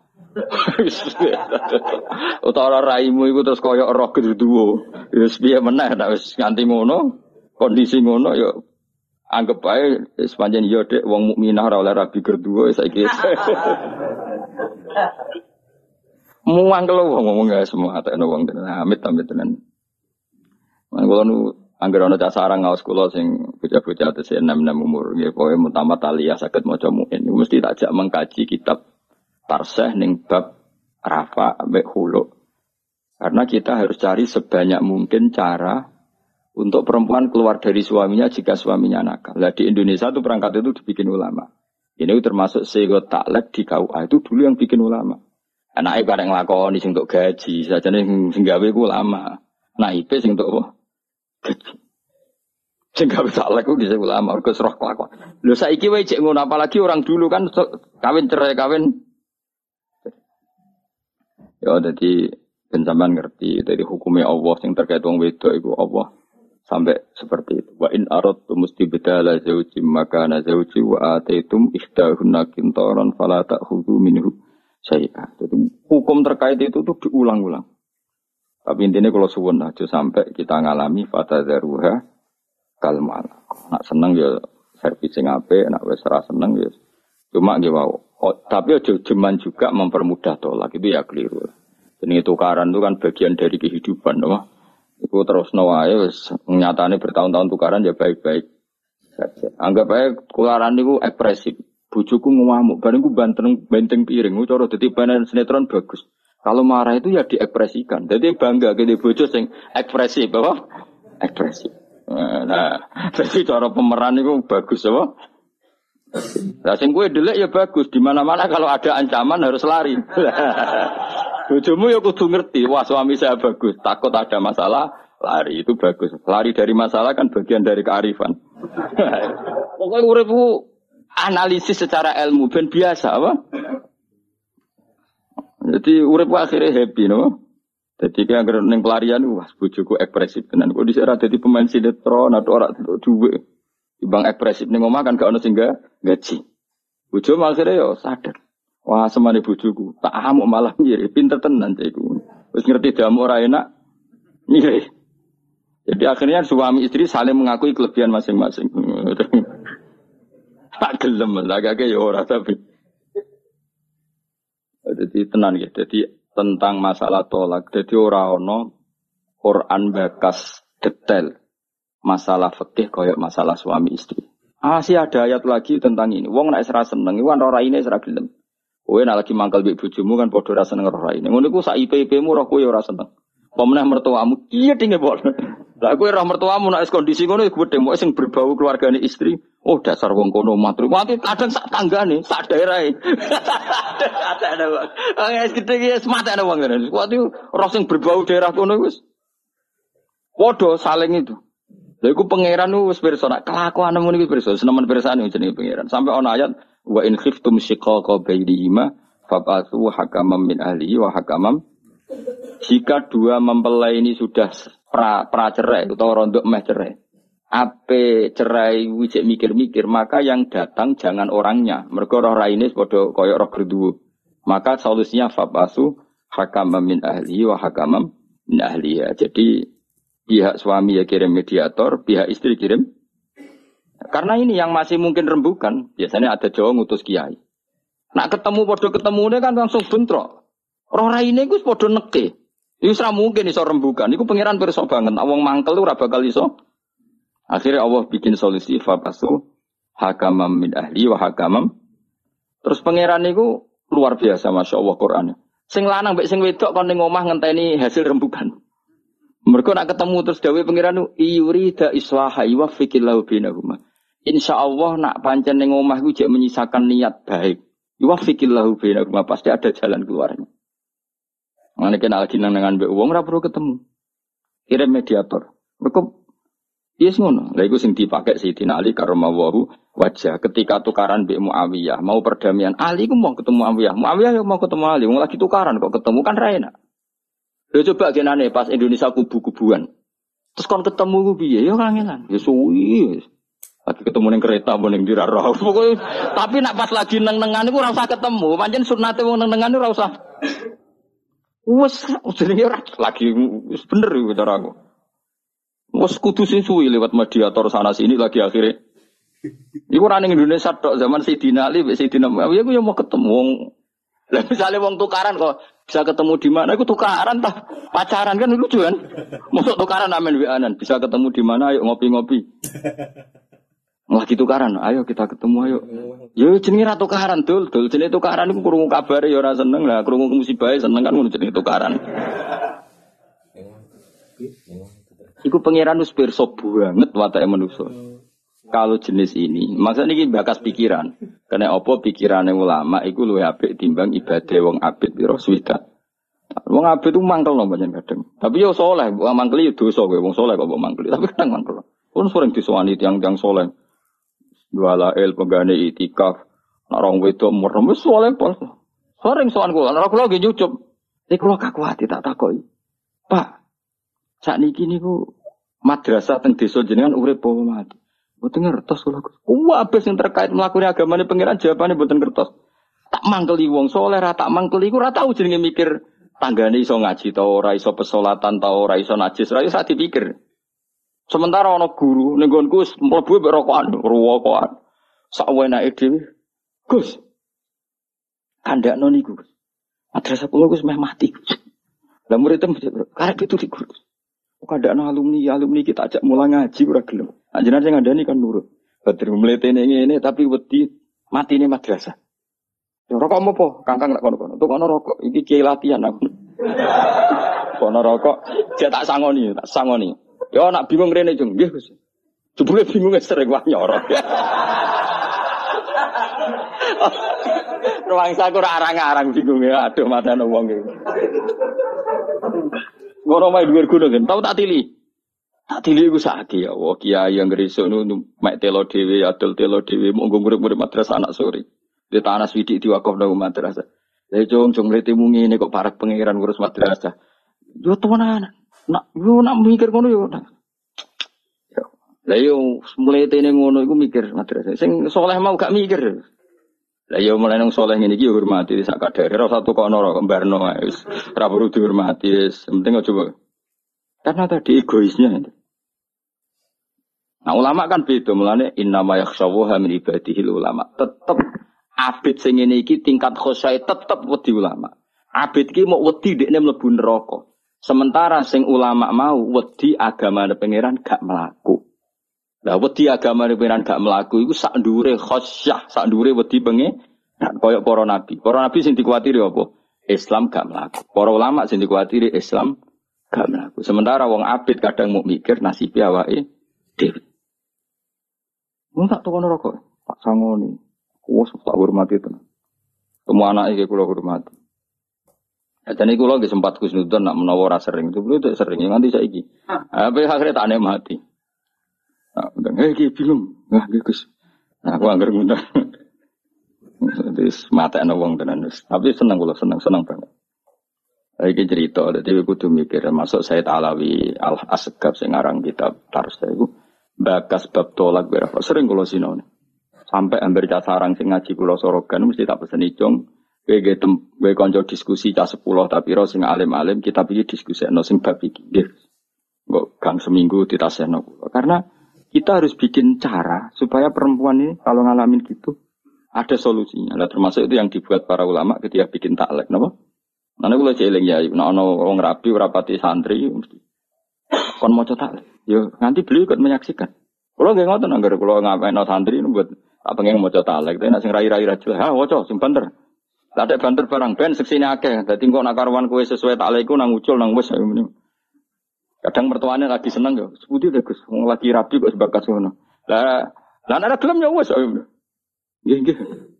Utawa raimu iku terus koyo roh geduwo. Wis piye meneh nek wis nganti ngono, kondisi ngono ya anggap bae sepanjang yo dek wong mukminah ora oleh rabi geduwo saiki. Muang kelo wong ngomong gak semua atekno wong tenan. Amit-amit tenan. Man kula nu angger ana cah sarang ngaos kula sing bocah-bocah tesih enam enam umur nggih pokoke mutamat aliyah saged maca muin. Mesti tak jak mengkaji kitab Tarseh ning bab rafa ambek hulu. Karena kita harus cari sebanyak mungkin cara untuk perempuan keluar dari suaminya jika suaminya nakal. Lah di Indonesia itu perangkat itu dibikin ulama. Ini termasuk sego taklek di K U A itu dulu yang bikin ulama. Anake bareng nglakoni sing untuk gaji, sajane sing gawe ku ulama. Nah, I P sing untuk apa? Gaji. Sing gawe taklek ku dhisik ulama, mergo roh kelakuan. Lho saiki wae cek ngono apalagi orang dulu kan kawin cerai kawin. Ya jadi ben sampean ngerti dari hukumnya Allah yang terkait wong wedok iku Allah sampai seperti itu. Wa in aradtum mustibdala zawjin makana zawji wa ataitum ihdahunna qintaran fala ta'khudhu minhu syai'a. Jadi hukum terkait itu tuh diulang-ulang. Tapi intinya kalau suwun aja sampai kita ngalami fatadzaruha kal malak. Nak seneng ya servis sing apik, nak wis ora seneng ya cuma nggih wae. Oh, tapi aja jeman juga mempermudah tolak itu ya keliru. Jadi tukaran itu kan bagian dari kehidupan, no? Itu terus nawae wis nyatane bertahun-tahun tukaran ya baik-baik saja. Anggap aja tukaran itu ekspresif. Bojoku ngamuk, bareng ku banteng benteng piring, cara dadi pemain sinetron bagus. Kalau marah itu ya diekspresikan. Jadi bangga gede bojo sing ekspresif, apa? Ekspresif. Nah, jadi cara pemeran itu bagus, apa? Lah sing kowe delek ya bagus, di mana-mana kalau ada ancaman harus lari. Bojomu ya kudu ngerti, wah suami saya bagus, takut ada masalah, lari itu bagus. Lari dari masalah kan bagian dari kearifan. Pokoknya uripku analisis secara ilmu ben biasa apa? Jadi uripku akhirnya happy no. Jadi kayak anggere ning pelarian wah bojoku ekspresif tenan. Kok dhisik ora dadi pemain sinetron atau ora duwe. Ibang ekspresif ning omah kan gak ono sing gaji. Bojo akhirnya yo sadar. Wah semane bojoku, tak amuk malah ngiri, pinter tenan iku. Wis ngerti damu ora enak. Ngiri. Jadi akhirnya suami istri saling mengakui kelebihan masing-masing. Tak gelem lah kake yo ora tapi. Jadi tenan ya. Jadi tentang masalah tolak. Jadi ora ono Quran bakas detail masalah fikih koyok masalah suami istri. Ah sih ada ayat lagi tentang ini. Wong nek ora seneng iku ora raine ora gelem. Kowe nek lagi mangkel mbek bojomu kan padha ora seneng ora raine. Ngono iku sak I P P-mu roh kowe ora seneng. Apa meneh mertuamu iya dinge bol. Lah kowe roh mertuamu nek kondisi ngono iku gedhe mok sing berbau keluargane istri. Oh dasar wong kono matru. Mati kadang sak tanggane, sak daerahe. Ada wong. Wis gedhe iki semate ana wong ngene. Kuwi roh sing berbau daerah kono wis padha saling itu. Lha iku pangeran wis pirsa nek kelakuan ngono iki pirsa, senemen pirsane jenenge pangeran. Sampai ana ayat wa in khiftum shiqaqa bainihima fab'atsu hakaman min ahlihi wa hakaman. Jika dua mempelai ini sudah pra, pra cerai atau rondok meh cerai. Ape cerai wijek mikir-mikir, maka yang datang jangan orangnya. Mergo roh raine padha kaya roh gerduwo. Maka solusinya fab'atsu hakaman min ahlihi wa hakaman min ahliha. Jadi pihak suami ya kirim mediator, pihak istri kirim. Karena ini yang masih mungkin rembukan, biasanya ada Jawa ngutus kiai. Nak ketemu podo ketemunya kan langsung bentrok. Roh raine iku podo neke. Iku ora mungkin iso rembukan. Iku pangeran pirsa banget. Wong mangkel ora bakal iso. Akhirnya Allah bikin solusi fabasu hakamam min ahli wa hakamam. Terus pangeran niku luar biasa masyaallah Qur'ane. Sing lanang mbek sing wedok kon ning omah ngenteni hasil rembukan. Mereka nak ketemu terus dawe pangeran iyurida islaha wa fikillahu bainahuma. Insya Allah nak pancen ning omah iku jek menyisakan niat baik. Yuwafiqillahu bainakum pasti ada jalan keluarnya. Mane kena lagi nang dengan mbek wong ora perlu ketemu. Kirim mediator. Mergo yes ngono. Lha iku sing dipakai Sayyidina Ali karramallahu wajah ketika tukaran mbek Muawiyah, mau perdamaian. Ali ku mau ketemu Muawiyah. Muawiyah mau ketemu Ali, wong lagi tukaran kok ketemu kan ra enak. Lha coba genane pas Indonesia kubu-kubuan. Terus kon ketemu ku piye? Ya kangenan. Ya suwi. Lagi ketemu ning kereta apa ning diraro. Pokoke tapi nak pas lagi neng-nengan iku ora usah ketemu. Pancen sunate wong neng-nengan ora usah. Wes jenenge ora lagi wis bener iku cara aku. Wes kudu sing suwi lewat mediator sana sini lagi akhirnya. Iku ora ning Indonesia tok zaman Sayyidina Ali mek Sayyidina Muawiyah aku ya mau ketemu wong. Lah misale wong tukaran kok bisa ketemu di mana? Iku tukaran tah pacaran kan lucu kan. Mosok tukaran amen weanan bisa ketemu di mana ayo ngopi-ngopi. Lagi tukaran, ayo kita ketemu ayo. Yo jenenge ra tukaran dul, dul jenenge tukaran iku krungu kabare ya ora seneng lah, krungu musibah seneng kan ngono jenenge tukaran. Iku pangeran wis pirsa banget watake manusa. Kalau jenis ini, maksudnya ini bakas pikiran. Karena apa pikirane ulama iku luwih apik timbang ibadah wong abid pira swida. Wong abid itu mangkel lho pancen kadang. Tapi yo saleh, wong mangkel yo dosa kowe wong saleh kok mbok mangkel. Tapi kadang mangkel. Pun sering disowani tiyang-tiyang saleh. Dua el penggane itikaf, nak rong wedok merem wis soleh pol. Sering sowan kula, nek kula nggih nyucup. Nek kula kakuati tak takoki. Pak, sakniki niku madrasah teng desa jenengan urip apa mati? Mboten ngertos kula. Kuwi sing terkait mlakune agamane pangeran jawabane mboten ngertos. Tak mangkeli wong soleh ra tak mangkeli iku ora tau jenenge mikir tanggane iso ngaji ta ora iso pesolatan ta ora iso najis ra iso dipikir. Sementara ana guru ning nggonku wis mlebu mek rokokan, rokokan. Sak wenake dhewe. Gus. Kandakno niku. Madrasah kula wis meh mati. Lah murid tem karep itu di guru. Kandakno alumni, alumni kita ajak mulang ngaji ora gelem. Anjenan sing ngandani kan nurut. Badhe mletene ngene tapi wedi matine madrasah. Ya rokok apa? Kangkang nek kono-kono. Untuk ana rokok iki kiai latihan aku. Kono rokok jek tak sangoni, tak sangoni. Ya nak bingung rene jeng, nggih Gus. Jebule bingung sering wah nyorot. Ruang saku ora arang-arang bingung ya, aduh matane wong iki. Ngono wae dhuwur gunung kan, tau tak tili. Tak tili iku sakit ya, wah kiai yang gresik nu mek telo dhewe, adol telo dhewe monggo murid-murid madrasah anak sore. Di tanah swidik diwakaf nang madrasah. Lah jong jong mletemu ngene kok parek pangeran ngurus madrasah. Yo tenan. Nak yo nak mikir ngono yo. Lah yo mletene ngono iku mikir madrasah. Sing saleh mau gak mikir. Lah yo mulai nang saleh ngene iki yo hormati sak kadare. Ora satu kono ora kembarno ae wis ora perlu dihormati wis. Penting coba. Karena tadi egoisnya. Nah ulama kan beda mulane innama yakhshawaha min ibadihil ulama. Tetep abid sing ngene iki tingkat khosyai tetep wedi ulama. Abid iki mau wedi dekne mlebu neraka. Sementara sing ulama mau wedi agamane pangeran gak mlaku. Lah wedi agamane pangeran gak mlaku iku sak ndure khosyah, sak ndure wedi pengen koyo para nabi. Para nabi sing dikuatiri apa? Islam gak mlaku. Para ulama sing dikuatiri Islam gak mlaku. Sementara wong abid kadang mau mikir nasibe awake dhewe. Mun tak tokono rokok, tak sangoni. Wes tak hormati tenan. Semua anak iki kula hormati. Dan iku lho nggih sempat kusnudon nak menawa ora sering. Itu itu sering nganti saiki. Apa akhirnya tak nikmati. Nah, udah iki bingung. Nah, Gus. Nah, aku anggar ngundang. Wis mate ana wong tenan wis. Tapi seneng kula seneng seneng banget. Iki cerita dadi kudu mikir masuk Said Alawi Al-Asgab sing aran kitab Tarsa iku bakas bab tolak berapa sering kula sinone. Sampai hampir cah sarang sing ngaji kula sorogan mesti tak peseni jong. Kowe ge tem kowe kanca diskusi cah sepuluh tapi ro sing alim-alim kita iki diskusikno sing bab iki nggih. Engko gang seminggu ditasehno kula. Karena kita harus bikin cara supaya perempuan ini kalau ngalamin gitu ada solusinya. Lah termasuk itu yang dibuat para ulama ketika bikin taklek napa? Nane kula celing ya, nek ana wong rabi ora pati santri mesti kon maca taklek. Yo nanti beliau ikut menyaksikan. Kula nggih ngoten anggere kula ngapain santri buat apa pengen maca taklek, tapi nek sing rai-rai ra jelas, ha waca sing banter. Lah ada banter barang ben seksine akeh. Dadi engko nek karwan kowe sesuai taklekku nang ucul nang wis ngene. Kadang mertuane lagi seneng yo. Seputi lho Gus, wong lagi rabi kok sebakas ngono. Lah Lah nek gelem ya wis. Nggih nggih.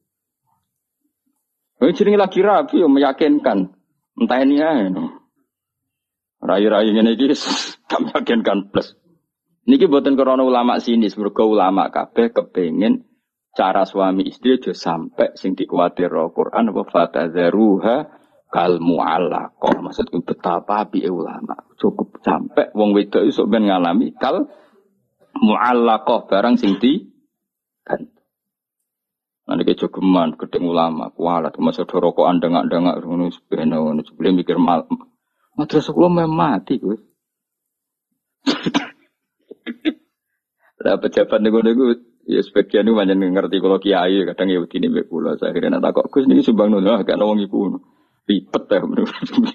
Wis jenenge lagi rapi yo meyakinkan. Entah ini ae no. Rai-rai ngene iki gak meyakinkan plus. Niki mboten krana ulama sinis, mergo ulama kabeh kepengin cara suami istri aja sampai sing dikuwatir Al-Qur'an apa fatadzaruha kal mu'allaqah. Maksudku betapa apike ulama. Cukup sampai wong wedok iso ben ngalami kal mu'allaqah barang sing di kan. Niki jogeman gedeng ulama kualat masa rokokan dengak-dengak ngono sepeno ngono sebelum mikir mal. Madrasah kula mati kowe. Lah pejabat niku-niku ya sebagian itu banyak ngerti kalau kiai kadang ya begini mbek kula saya kira nak kok Gus niki sumbang nono gak ono wong iku ribet ya menurut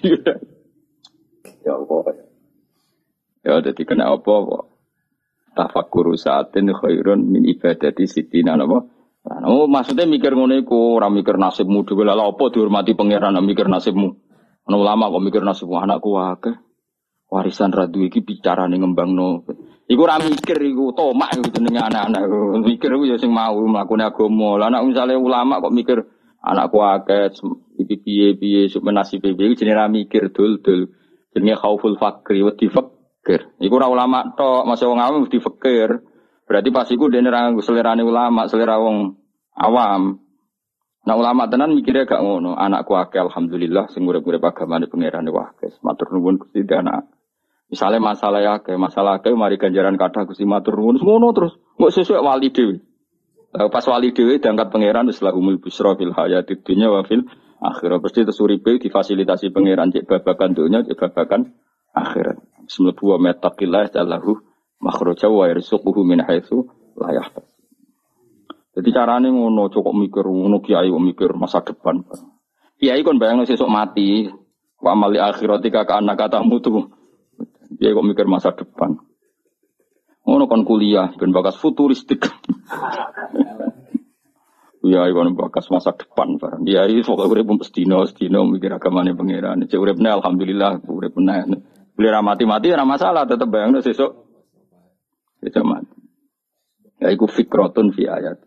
ya apa ya dadi kena apa kok tafakkuru saatin khairun min ibadati sitina napa oh maksudnya mikir ngono iku ora mikir nasibmu dhewe lha apa dihormati pangeran mikir nasibmu ana ulama kok mikir nasibmu anakku akeh warisan radu iki bicarane ngembangno. Iku ora mikir iku tomak iku jenenge anak-anak. Mikir iku ya sing mau mlakune agama. Lah nek misale ulama kok mikir anakku akeh iki piye-piye sok nasibe iki jenenge ora mikir dul-dul. Jenenge khauful fakri wedi fakir. Iku ora ulama tok, masa wong awam mesti fakir. Berarti pas iku dene ra selerane ulama, selera wong awam. Nah ulama tenan mikirnya gak ngono. Anakku akeh alhamdulillah sing urip-urip agamane pangerane wae. Matur nuwun Gusti anak. Misalnya masalah ya, kayak masalah kayak mari ganjaran kata Gusti matur nuwun ngono terus. Mbok sesuk wali dhewe. Pas wali dhewe diangkat pangeran wis lahumul busra fil hayatid dunya wa fil akhirah. Pasti terus uripe difasilitasi pangeran cek babagan dunya, cek babagan akhirat. Bismillah wa mattaqillah jallahu makhraja wa yarzuquhu min haitsu la yahtasib. Jadi carane ngono cukup mikir ngono kiai kok mikir masa depan. Kiai kon bayangno sesuk mati. Wa amali akhiratika ka anak katamu tuh. Dia kok mikir masa depan. Ngono kon kuliah ben bakas futuristik. Ya ikon bakas masa depan barang. Dia iki sok urip mestino, stino mikir agamane pangeran. Cek uripne alhamdulillah urip meneh. Beli ra mati-mati ora masalah tetep bayangno sesuk. Sesuk mati. Ya iku fikratun fi ayat.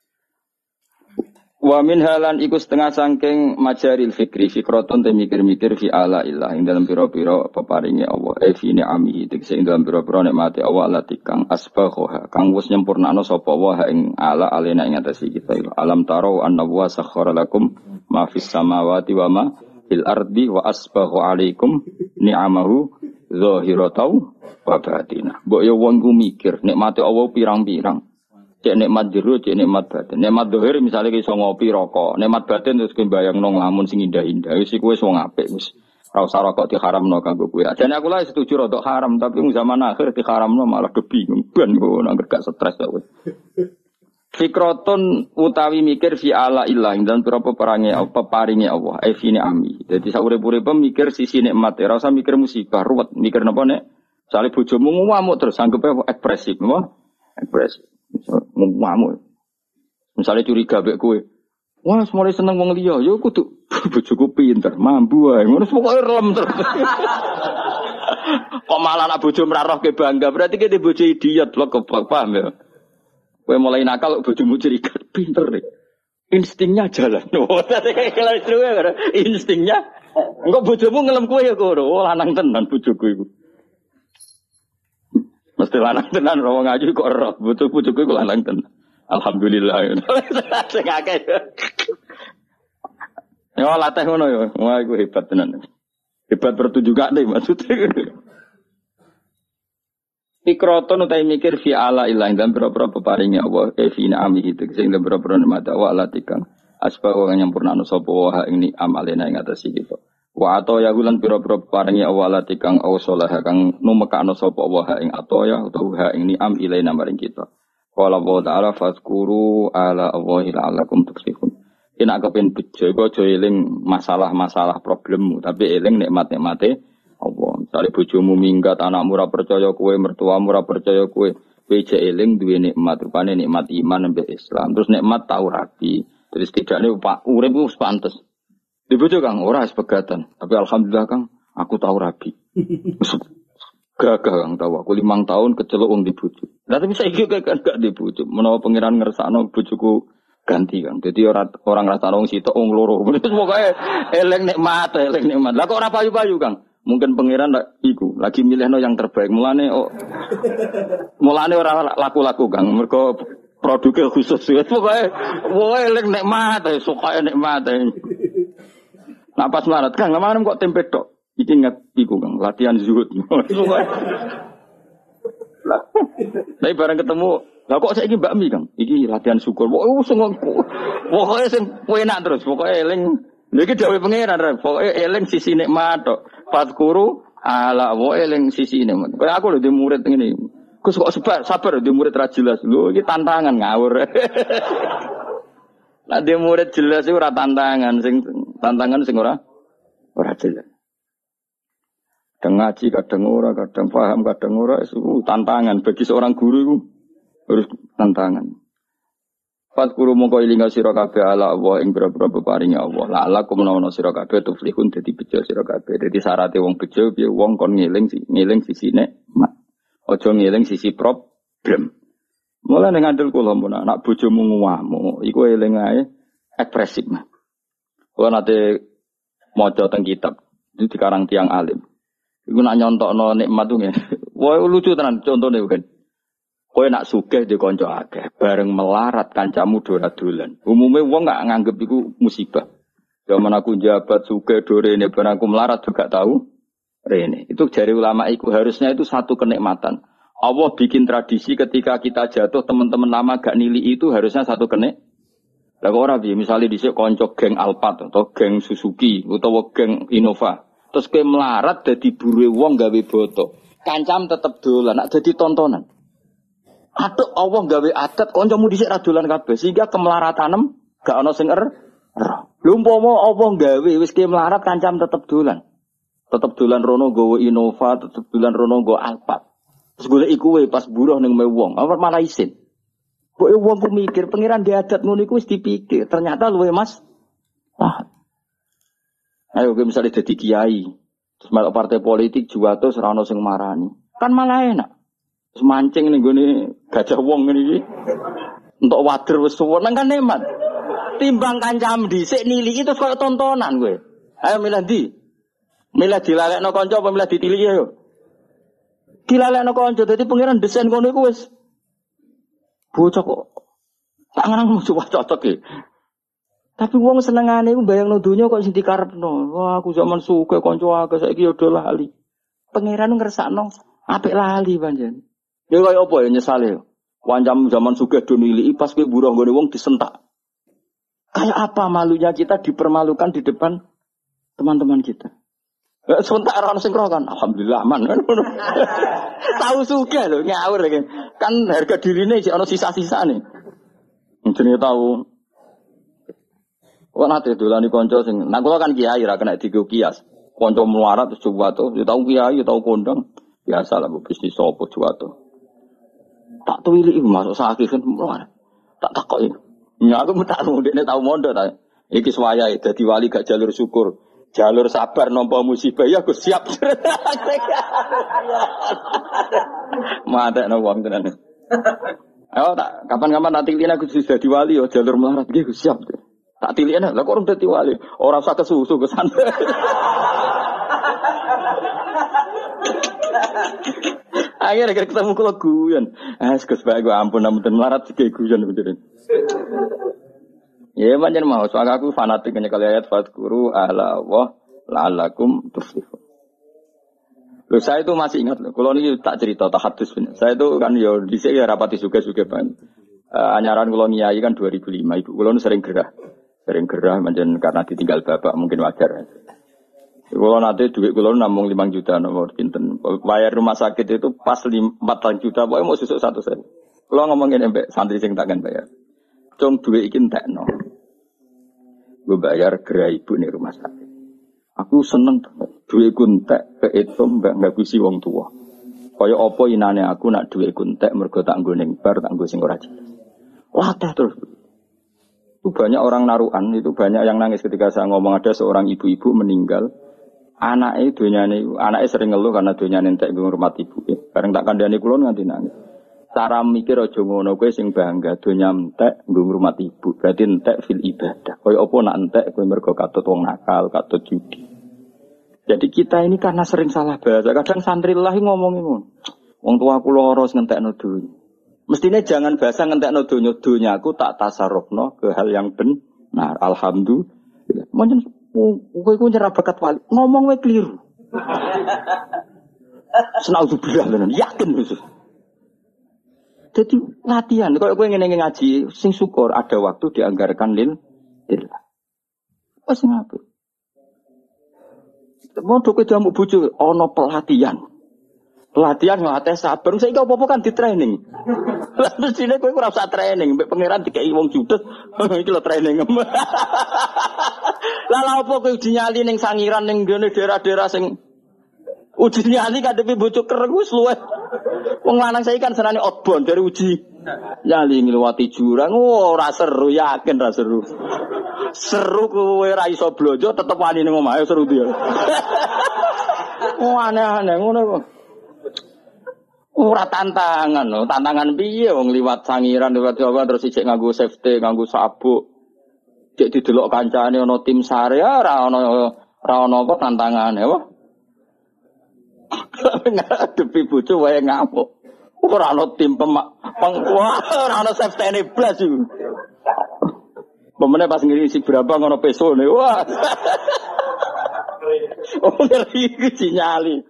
Wa min halan iku setengah sangking majaril fikri fikratun te mikir-mikir fi ala illah ing dalam pira-pira peparinge Allah e fi ni'amihi tegese ing dalam pira-pira nikmate Allah lati kang asbagha kang wis nyempurnakno sapa wa ing ala alena ing atase kita alam taro anna wa sakhkhara lakum ma fis samawati wa ma fil ardi wa asbagha alaikum ni'amahu zahiratan wa batinah mbok yo wong ku mikir nikmate Allah pirang-pirang. Cek nikmat jero, cek nikmat batin. Nikmat dohir misalnya iso ngopi rokok. Nikmat batin terus kowe bayangno nglamun sing indah-indah. Wis iku wis wong apik wis. Ora usah rokok diharamno kanggo kowe. Ajane aku lah setuju rokok haram, tapi zaman akhir diharamno malah do bingung. Ben kok nang gak stres kok wis. Fikratun utawi mikir fi ala illah dan berapa perange apa paringe Allah. E fi ni'ami. Dadi sak urip-uripe mikir sisi nikmat. Ora usah mikir musibah, ruwet. Mikir napa nek sale bojomu ngamuk terus anggepe ekspresif, apa? Ekspresif. Ngamuk. Misalnya curiga mbek kowe. Wah, mulai seneng wong liya, ya kudu bojoku pinter, mambu wae. Ngono pokoke relem terus. Kok malah anak bojo mrarohke bangga, berarti ki bojo idiot lho kok paham ya. Kowe mulai nakal bojomu curiga, pinter nih. Instingnya jalan. Oh, tadi kayak kelas dulu ya, instingnya. Engko bojomu ngelem kowe ya kono. Oh, lanang tenan bojoku iku. Mesti lanang tenan ora ngaji kok ora butuh-butuh kok lanang tenan. Alhamdulillah. Sing akeh. Yo latih ngono yo. Wah iku hebat tenan. Hebat pertunjukan deh maksudnya. Fikratun utai mikir fi ala ilah dan berapa peparingnya Allah e fi na'ami itu sing berapa nikmat wa alatikang asba wa nyampurnano sapa wa ing amalena ing atas iki. Wa ato ya gulan pira-pira paringi awalati kang ausalah kang numekano sapa wa ing ato ya utawa ing ni'am ilaina maring kita. Qala wa ta'ala fazkuru ala Allahi la'allakum tuflihun. Yen kepen bejo iku aja eling masalah-masalah problemmu tapi eling nikmat-nikmate Allah. Misale bojomu minggat, anakmu ora percaya kowe, mertuamu ora percaya kowe, kowe jek eling duwe nikmat rupane nikmat iman mbek Islam. Terus nikmat tau rabi. Terus tidakne Pak urip wis pantes. Di bojo Kang ora sepegatan, tapi alhamdulillah Kang aku tahu rabi. Gagah Kang tahu aku limang tahun kecelok wong di bojo. Lah tapi saiki kan gak di bojo. Menawa pangeran ngersakno bojoku ganti Kang. Dadi ora orang rasane wong sitok wong loro. Pokoke eling nikmat, eling nikmat. Lah kok ora payu-payu Kang? Mungkin pangeran lak iku lagi milihno yang terbaik. Mulane oh, mulane ora laku-laku Kang. Mergo produknya khusus. Pokoke woe eling nikmat, suka nikmat. Nah pas marat Kang, lamaran kok tempe tok. Iki ingat iku Kang, latihan zuhud. Lah, tapi bareng ketemu, lah kok saiki Mbak Mi Kang? Iki latihan syukur. Wah, sing pokoke sing enak terus, pokoke eling. Lha iki dawuh pangeran, pokoke eling sisi nikmat tok. Fadkuru ala wa eling sisi nikmat. Kayak aku lho di murid ngene. Gus kok sabar, sabar di murid ra jelas. Lho iki tantangan ngawur. Lah di murid jelas iku ora tantangan, sing tantangan sing ora ora jelas. Kadang ngaji, kadang ora, kadang paham, kadang ora, itu tantangan. Bagi seorang guru itu harus tantangan. Fatkuru mongko ilinga sira kabeh ala Allah ing boro-boro peparinge Allah. La ala kumnawana sira kabeh tuflihun dadi bejo sira kabeh. Dadi syaraté wong bejo piye wong kon ngeling ngeling sisine mak. Aja ngeling sisi problem. Mula ning ngandel kula mun anak bojomu nguwamu, iku eling ae ekspresif. Kula nate maca teng kitab itu dikarang tiang alim. Iku nak nyontokno nikmat tuh ngene. Wah lucu tenan contone kan. Kowe nak sugih di kanca akeh, bareng melarat kancamu dolan-dolan. Umume wong gak nganggep iku musibah. Zaman aku jabat sugih dorene bareng aku melarat juga tahu rene. Itu jari ulama iku harusnya itu satu kenikmatan. Allah bikin tradisi ketika kita jatuh teman-teman lama gak nili itu harusnya satu kenik. Lah kok ora piye misale dhisik kanca geng Alphard atau geng Suzuki utawa geng Innova. Terus kowe melarat dadi buruhe wong gawe boto. Kancam tetep dolan, nak dadi tontonan. Aduh Allah gawe adat kancamu dhisik ra dolan kabeh sehingga kemelaratanem gak ana sing er. Lha umpama Allah gawe wis kowe melarat kancam tetep dolan. Tetep dolan rono nggawa Innova, tetep dolan rono nggawa Alphard. Terus golek iku wae pas buruh ning wong, apa malah isin. Kok wong ku mikir pengiran di adat ngono iku wis dipikir, ternyata luwe Mas. Wah. Ayo gue misalnya jadi kiai, terus melok partai politik juwato serano sing marani, kan malah enak. Terus mancing nih gue nih gajah wong ini, untuk wader wes suwon kan nikmat. Timbang kancam dhisik nili itu kayak tontonan gue. Ayo milih di, milih dilalekno kanca apa milih ditilih ayo. Dilalekno kanca, dadi pangeran desain ngono iku wis bocah kok. Tak ngarang coba cocok e. Tapi wong senengane iku bayangno donya kok sing dikarepno. Wah, aku zaman suke kanca akeh saiki yo do lali. Pangeran ngersakno apik lali pancen. Ya kaya apa ya nyesale. Wancam zaman suke do niliki pas kowe buruh nggone wong disentak. Kayak apa malunya kita dipermalukan di depan teman-teman kita. Eh, sebentar orang sing kan, alhamdulillah aman. Tahu suke lho ngawur iki. Kan harga dirine iki ana sisa-sisane. Jenenge tahu. Kok nate dolani kanca sing nah kula kan kiai ra kena digo kias. Kanca melarat terus juwato, ya tau kiai, ya tau kondang. Biasa lah bisnis sapa juwato. Tak tuwili iku masuk sakit kan melarat. Tak takoki. Ya aku tak mudine tau mondok ta. Iki suwayahe dadi wali gak jalur syukur. Jalur sabar nampa musibah ya Gus siap. Matekno wong tenan. Ayo tak kapan-kapan tak tilina Gus sudah dadi wali yo jalur melarat iki Gus siap. Tak tilian lah, kok orang dadi wali, orang usah kesusu ke sana. Akhirnya ketemu kalau guyon, ah sekus baik gue ampun, namun melarat sih kayak guyon beneran. Ya macam mau, soalnya aku fanatik hanya kali ayat fatkuru ala wah la'alakum tuflihun. Loh saya itu masih ingat loh, kalau ini tak cerita tak hadis bener. Saya itu kan yo di sini ya rapati suka-suka banget. Uh, anyaran kalau ngiyai kan dua ribu lima, ibu kalau sering gerah. Sering gerah macam karena ditinggal bapak mungkin wajar. Kalau nanti duit kalau namung lima juta nomor pinten. Bayar rumah sakit itu pas empat juta, pokoknya mau susuk satu sen. Kalau ngomongin embek santri sing takkan bayar. Cung duit ikin tak no. Gue bayar gerah ibu nih rumah sakit. Aku seneng duit kuntek ke itu mbak nggak kusi wong tua. Kaya apa inane aku nak duit kuntek mergo tak nggo ning bar tak nggo sing ora jelas. Latah terus. Itu banyak orang naruhan, itu banyak yang nangis ketika saya ngomong ada seorang ibu-ibu meninggal Anake donyane anake sering ngeluh karena donyane entek ngurmat ibuke. Bareng tak kandhani kula nganti nangis. Cara mikir aja ngono kowe sing bangga donya entek nggo ngurmat ibu. Berarti entek fil ibadah. Kaya apa nak entek kowe mergo katut wong nakal, katut judi. Jadi kita ini karena sering salah bahasa. Kadang santri lah ngomongin ngono. Wong tua kula ora ngentekno donya. Mestine jangan bahasa ngentekno donya, donyaku tak tasarrufno ke hal yang benar. Alhamdulillah. Moncen kowe ku nyerah bakat wali. Ngomong wae keliru. Senauzubillah tenan, yakin wis. Jadi latihan, kalau kowe ngene ngaji, sing syukur ada waktu dianggarkan lil lillah. Wes ngape? Mau kowe jamu bojo ana pelatihan. Pelatihan ngelatih sabar, saiki apa-apa kan di training. Lah mestine kowe ora usah training, mbek pangeran dikeki wong judes, iki lho training. Lah lha opo kowe dinyali ning sangiran ning ngene daerah-daerah sing uji nyali kadepe bojo kereng wis luwih. Wong lanang saiki kan senane outbound dari uji nyali ngliwati jurang, oh, ora seru, yakin ora seru. Seru kowe ora iso blojo tetep wani ning omahe seru dia. Oh aneh-aneh ngono kok. Ora tantangan lho, tantangan piye wong liwat sangiran liwat Jawa terus ijek nganggo safety, nganggo sabuk. Cek didelok kancane ana tim sare ora ana ora ana apa tantangane apa. Ngadepi bojo wae ngamuk. Ora ana tim pemak pengkuat, ora ana safety blas iku. Pemene pas ngisi berapa ngono pesone. Wah. Oh ngeri iki nyali.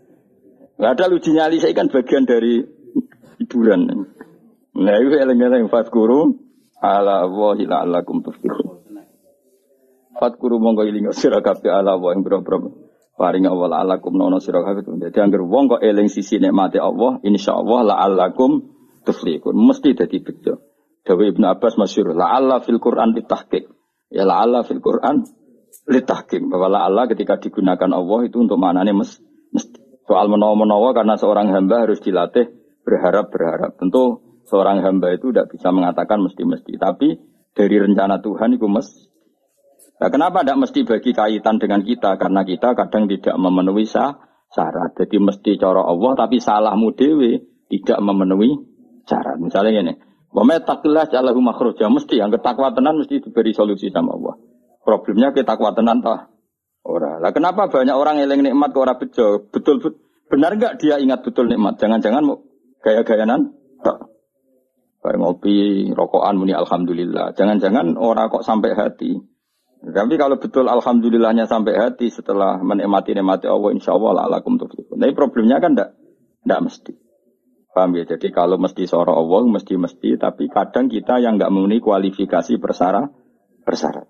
Ada uji nyali saya kan bagian dari hiburan. Nah itu eleng-eleng fatkuru ala wahi la'alakum tuflihun. Fatkuru monggo iling sira kabeh ala wa ing boro-boro paring Allah la'alakum nono sira kabeh. Dadi anggere wong kok eling sisi nikmate Allah, insyaallah la'alakum tuflihun. Mesti dadi bejo. Dawe Ibnu Abbas masyhur la'alla fil Quran ditahqiq. Ya la'alla fil Quran litahqiq. Bahwa la'alla ketika digunakan Allah itu untuk maknane mesti. Soal menawa-menawa karena seorang hamba harus dilatih berharap-berharap. Tentu seorang hamba itu tidak bisa mengatakan mesti-mesti. Tapi dari rencana Tuhan itu mesti. Nah, kenapa tidak mesti bagi kaitan dengan kita? Karena kita kadang tidak memenuhi syarat. Jadi mesti cara Allah tapi salahmu dewe tidak memenuhi syarat. Misalnya ini. Wa may taqillah ja'alahu makhraja. Mesti yang ketakwa tenan mesti diberi solusi sama Allah. Problemnya ketakwa tenan tak. Ora. Lah kenapa banyak orang eling nikmat kok ora bejo? Betul, betul benar enggak dia ingat betul nikmat? Jangan-jangan mau gaya-gayanan? Tak. Bareng ngopi, rokokan muni alhamdulillah. Jangan-jangan ora kok sampai hati. Tapi kalau betul alhamdulillahnya sampai hati setelah menikmati nikmati Allah insyaallah la'alakum tuflihun. Nah, problemnya kan enggak enggak mesti. Paham ya? Jadi kalau mesti soro Allah mesti-mesti tapi kadang kita yang enggak memenuhi kualifikasi persyarat persyarat.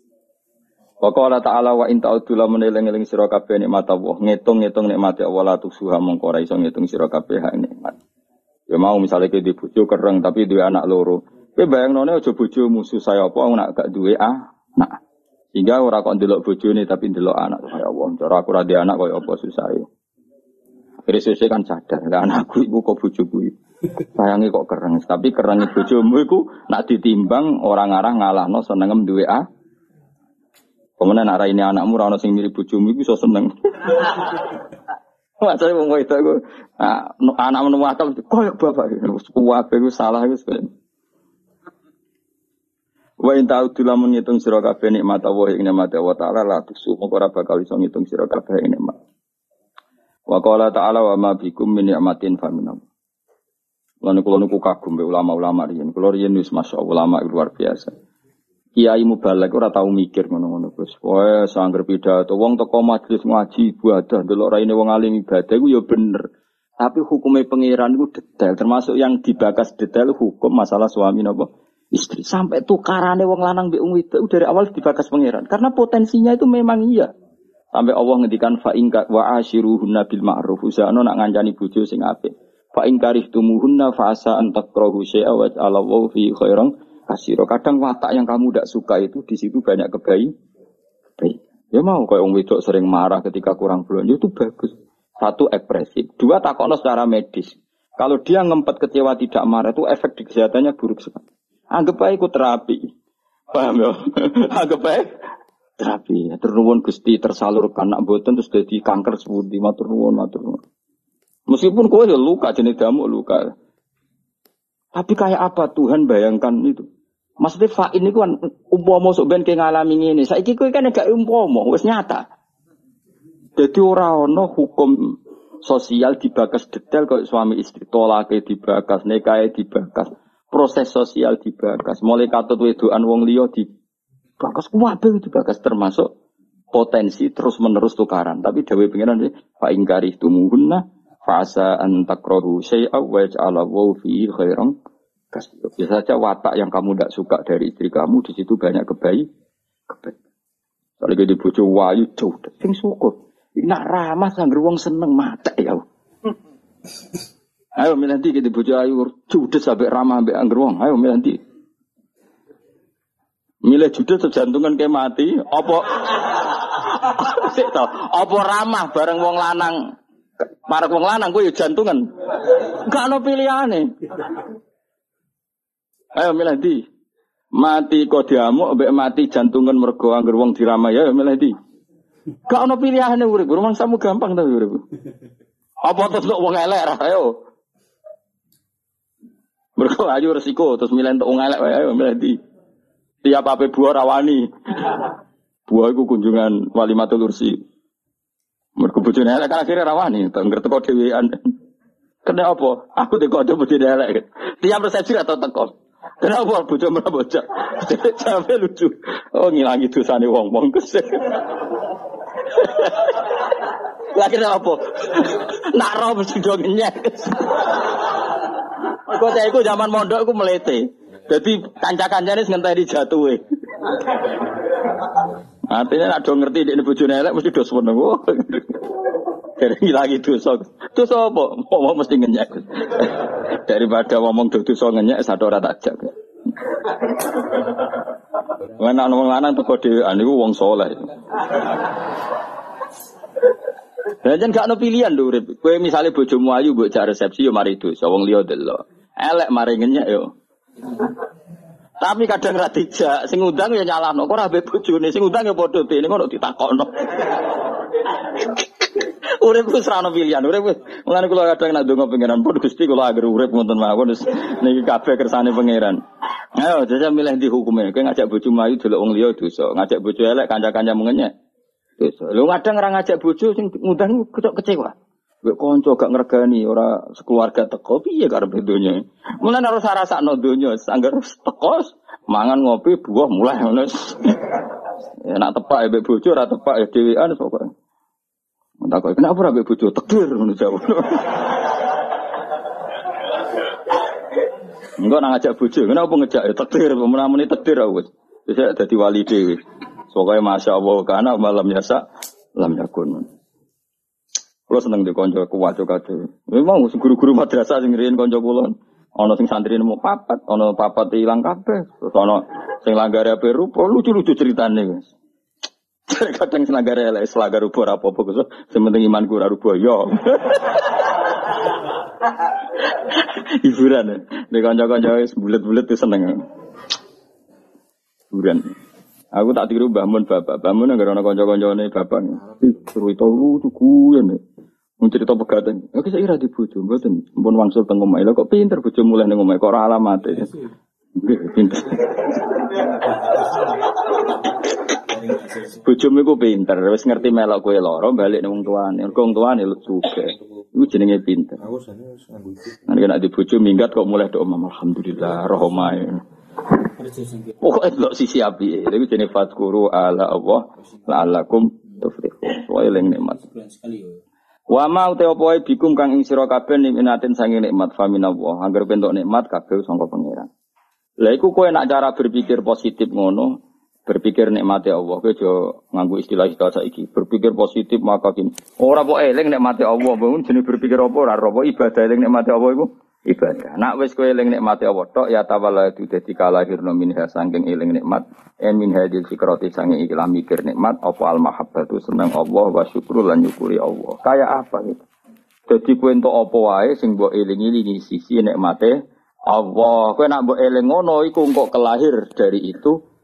Wa qala ta'ala wa in ta'udzu lamun eling-eling sira kabeh nikmat Allah, ngitung-ngitung nikmat Allah la tusuha mongko ora iso ngitung sira kabeh hak nikmat. Ya mau misalnya ke di bojo kereng tapi duwe anak loro. Kowe bayangnone aja bojomu susah apa nak gak duwe anak. Sehingga ora kok ndelok bojone tapi ndelok anak. Ya Allah, cara aku ra duwe anak koyo apa susahe. Akhire sesuk kan sadar, lah anakku iku kok bojoku iki. Sayange kok kereng, tapi kerenge bojomu iku nak ditimbang orang arah ngalahno senengem duwe anak. Kemudian nak ini anakmu rano sing mirip bojomu iku iso seneng. Macane wong kowe iku anak menemu akal koyo bapak wis kuwabe iku salah wis. Wa in ta'udzu lamun ngitung sira kabeh nikmat Allah ing nikmat Allah taala la tusu moko ora bakal iso ngitung sira kabeh ing nikmat. Wa qala ta'ala wa ma bikum min ni'matin fa min Allah. Lan kula niku kagum be ulama-ulama riyen. Kula riyen wis masyaallah ulama luar biasa. Kiai mubalek ora tau mikir ngono-ngono Gus. Wae sangger pidato wong teko majelis ngaji ibadah delok raine wong alim ibadah iku ya bener. Tapi hukume pangeran iku detail termasuk yang dibakas detail hukum masalah suami napa istri. Sampai tukarane wong lanang mbek wong wedok dari awal dibakas pangeran. Karena potensinya itu memang iya. Sampai Allah ngendikan fa in wa ashiruhunna bil ma'ruf. Usahane nak ngancani bojo sing apik. Fa in karihtumuhunna fa asa an takrahu syai'a wa Allahu fi khairan kasiro. Kadang watak yang kamu tidak suka itu di situ banyak kebaik. Baik. Ya mau kayak orang wedok sering marah ketika kurang belanja itu bagus. Satu ekspresif, dua takokno secara medis. Kalau dia ngempet kecewa tidak marah itu efek di kesehatannya buruk sekali. Anggap baik ikut terapi. Paham ya? Anggap baik terapi. Matur nuwun Gusti tersalurkan nak mboten terus dadi kanker sepundi. Matur nuwun, matur nuwun. Meskipun kowe ya luka jenis damuk luka. Tapi kayak apa Tuhan bayangkan itu? Maksudnya fa'in itu kan umpama sok ben ke ngalami ngene. Saiki kowe kan gak umpama, wis nyata. Dadi ora ana hukum sosial dibakas detail kok suami istri tolake dibakas, nikahe dibakas, proses sosial dibakas, mulai katut wedokan wong liya dibakas kabeh dibakas termasuk potensi terus menerus tukaran. Tapi dawuh pengiran fa ingkari tumuhunna fasa an takrahu syai'a wa ja'alallahu fi khairan. Biasa saja watak yang kamu tidak suka dari istri kamu di situ banyak kebaik, kebaik. Soalnya di bojo wayu jauh, sing syukur. Nak ramah sangger wong seneng mata ya. Ayo milanti di bojo ayu judes sampai ramah sampai angger wong. Ayo milanti. Milih judes sejantungan kayak mati. Apa? Sik to. Apa ramah bareng wong lanang? Marek wong lanang kuwi jantungan. Gak ono pilihane. Ayo milih di mati kok diamuk mbek mati jantungan mergo angger wong diramai ya milih di. Gak ono pilihane urip, rumang samu gampang ta urip. Apa terus wong elek ra ayo. Mergo ayu resiko terus milih entuk wong elek wae ayo milih di. Tiap ape buah rawani. Buah iku kunjungan Walimatul Ursi. Mergo bojone elek kan akhire rawani, tengger teko dhewean. Kena apa? Aku teko bojone elek. Tiap resepsi atau teko. Kenapa bocah merah bocah? Sampai lucu. Oh ngilangi dosane wong-wong kesel. Lagi apa? Nak roh mesti do ngenyek. Kok saya iku zaman mondok iku melete. Dadi kanca-kancane ngenteni jatuhe. Artinya nak do ngerti nek bojone elek mesti do seneng. Dari ngilangi dosa. Dosa apa? Ngomong mesti ngenyek. Daripada ngomong dosa ngenyek satu ora tak jak. Ana wong lanang teko dhewean niku wong saleh. Lah jan gak ono pilihan lho urip. Kowe misale bojomu ayu mbok jak resepsi yo mari dosa wong liya delok. Elek mari ngenyek yo. Tapi kadang ra dijak, sing ngundang ya nyalahno. Kok ora mbek bojone, sing ngundang ya padha dene ngono ditakokno. Urip wis ra ono pilihan, urip wis. Mulane kula kadang nak ndonga pangeran pun Gusti kula agar urip wonten mawon wis niki kabeh kersane pangeran. Ayo jajal milih ndi hukume. Kowe ngajak bojo ayu delok wong liya dosa, ngajak bojo elek kanca-kanca mengenyek. Dosa. Lho kadang ora ngajak bojo sing ngundang kecok kecewa. Mbek kanca gak ngregani ora sekeluarga teko piye karepe donya. Mulane harus rasakno donya, sangger teko mangan ngopi buah mulai ngono. Ya nak tepak mbek bojo ora tepak ya dhewean pokoke. Tak kok kenapa ora mbek bojo tekdir ngono jawab. Enggak nang ngajak bojo, kenapa ngejak ya tekdir, menamuni tekdir aku wis. Wis dadi wali dhewe. Pokoke masyaallah kana malam yasa lam yakun. Kulo seneng di kanca kuwaco kabeh. Memang guru-guru madrasah sing riyen kanca kula. Ana sing santri nemu papat, ana papat ilang kabeh. Terus ana sing langgare ape rupa, lucu-lucu ceritane wis. Kadang senagare elek selanggar rupa ora apa-apa kok. Sementing imanku ora rupa yo. Hiburan. Nek kanca-kanca wis bulet-bulet wis seneng. Hiburan. Aku tak tiru Mbah Mun bapak. Mbah Mun anggere ana kanca-kancane bapak. Cerita lucu guyon. Mun cerita pegaten. Oke saya ira di bojo mboten. Mumpun wangsul teng omah. Lha kok pinter bojo mulih ning omah kok ora alamate. Nggih pinter. Bojomu iku pinter, wis ngerti melok kowe lara balik ning wong tuane. Mergo wong tuane lucuke. Iku jenenge pinter. Aku sane wis nganggo iki. Nek di bojo minggat kok mulih tok omah alhamdulillah roh omahe. Pokoknya delok sisi api, itu jenis fatkuru ala Allah, la'alakum tuflihun. Soale eling nikmat. Wa ma uta apa wae bikum kang ing sira kabeh nikmatin sange nikmat faminallah. Angger bentuk nikmat kabeh sangka pangeran. Lah iku kowe nak cara berpikir positif ngono, berpikir nikmate Allah, kowe aja nganggo istilah-istilah saiki. Berpikir positif maka kini. Ora kok eling nikmate Allah, bangun jenis berpikir apa ora apa ibadah eling nikmate Allah iku. Ibadah. Nak wis kowe eling nikmate Allah tok ya tawalla itu dadi kalahirna minha saking eling nikmat en min hadil fikrati sange ikhlas mikir nikmat apa al mahabbatu seneng Allah wa syukur lan nyukuri Allah. Kayak apa gitu. Dadi kowe entuk apa wae sing mbok eling-elingi sisi nikmate Allah. Kowe nak mbok eling ngono iku engko kelahir dari itu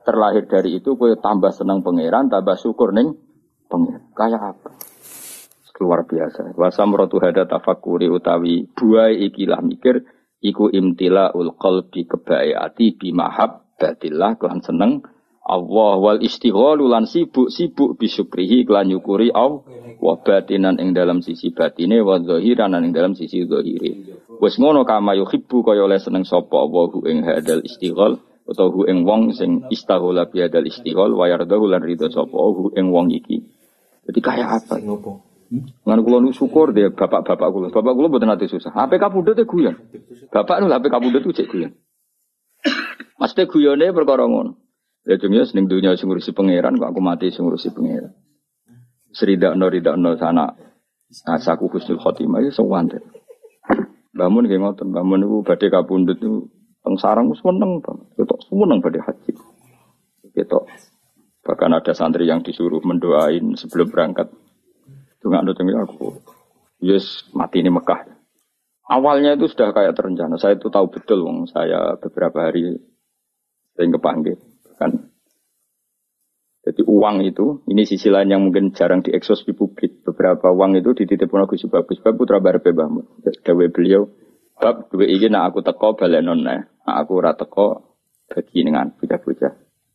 terlahir dari itu kowe tambah seneng pangeran, tambah syukur ning pangeran. Kayak apa? Luar biasa. Wa samratu hada tafakkuri utawi buai ikilah mikir iku imtilaul qalbi kebae ati bi mahabbatillah kelan seneng Allah wal istighalu lan sibuk-sibuk bisyukrihi kelan nyukuri Allah wa batinan ing dalam sisi batine wa zahiran ing dalam sisi zahire. Wis ngono kama yuhibbu kaya oleh seneng sapa Allahu ing hadal istighal utawa hu ing wong sing istaghala bi hadal istighal wa yardahu lan ridho sapa hu ing wong iki. Jadi kayak apa? Ngan kula nu syukur dia bapak-bapak kula. Bapak kula mboten ate susah. H P kapundhut e guyon. Bapak nu H P kapundhut ku cek guyon. Mesti guyone perkara ngono. Ya dunya ning dunya sing ngurusi pangeran kok aku mati sing ngurusi pangeran. Sridakno ridakno sana asaku husnul khotimah ya sewante. Bangun nggih ngoten, bangun niku badhe kapundhut niku teng sarang wis seneng banget. Ketok seneng badhe haji. Ketok. Bahkan ada santri yang disuruh mendoain sebelum berangkat. Enggak ada cengi aku. Yes, mati ini Mekah. Awalnya itu sudah kayak terencana. Saya itu tahu betul, wong saya beberapa hari sering kepanggil. Kan. Jadi uang itu, ini sisi lain yang mungkin jarang diekspos di publik. Beberapa uang itu dititipkan Gus Bagus, Bab putra Barbe Bahmu. Dawe beliau, bab duwe iki nak aku teko balenon nah. Nak aku ora teko bagi dengan bocah-bocah.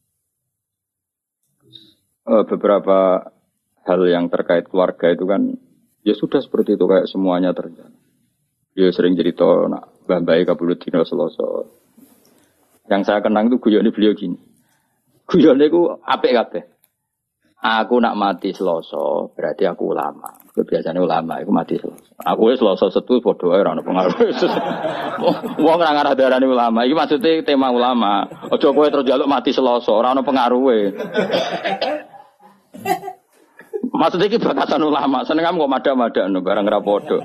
Uh, beberapa hal yang terkait keluarga itu kan ya sudah seperti itu kayak semuanya terjadi. Dia sering cerita nak mbah-mbahe kabulut dina Selasa. Yang saya kenang itu guyone beliau gini. Guyone iku apik kabeh. Aku nak mati Selasa, berarti aku ulama. Biasanya ulama iku mati Selasa. Aku wis Selasa setu padha ae ora ono pengaruh. Wong ora ngarah darani ulama. Iki maksudnya tema ulama. Aja kowe terus njaluk mati Selasa, ora ono pengaruhe. Maksudnya ini batasan ulama, seneng kamu kok mada-mada no, barang rapodo.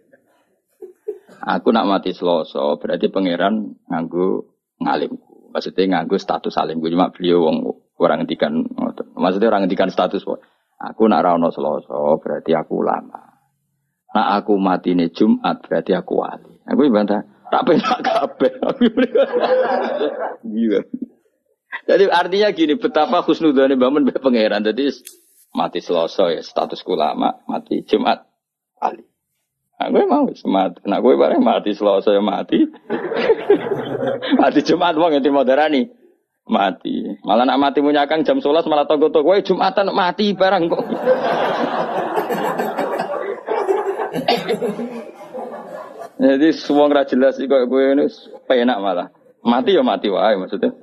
Aku nak mati Selasa, berarti pangeran nganggu ngalimku. Maksudnya nganggu status alimku, cuma beliau wong orang ngendikan, maksudnya orang ngendikan status. Aku nak rano Selasa, berarti aku ulama. Nak aku mati ini Jumat, berarti aku wali. Aku bantah, tak penak kabeh. Jadi artinya gini, betapa husnudzane bangun be pangeran. Jadi mati Selasa ya status ulama, mati Jumat ali. Nah, gue mau semat. Nah, gue bareng mati Selasa ya mati. Mati Jumat wong ngerti moderani. Mati. Malah nak mati punya Kang jam sebelas malah toko-toko kowe Jumatan mati barang kok. Jadi semua ora jelas iki kok kowe ini penak malah. Mati ya mati wae maksudnya.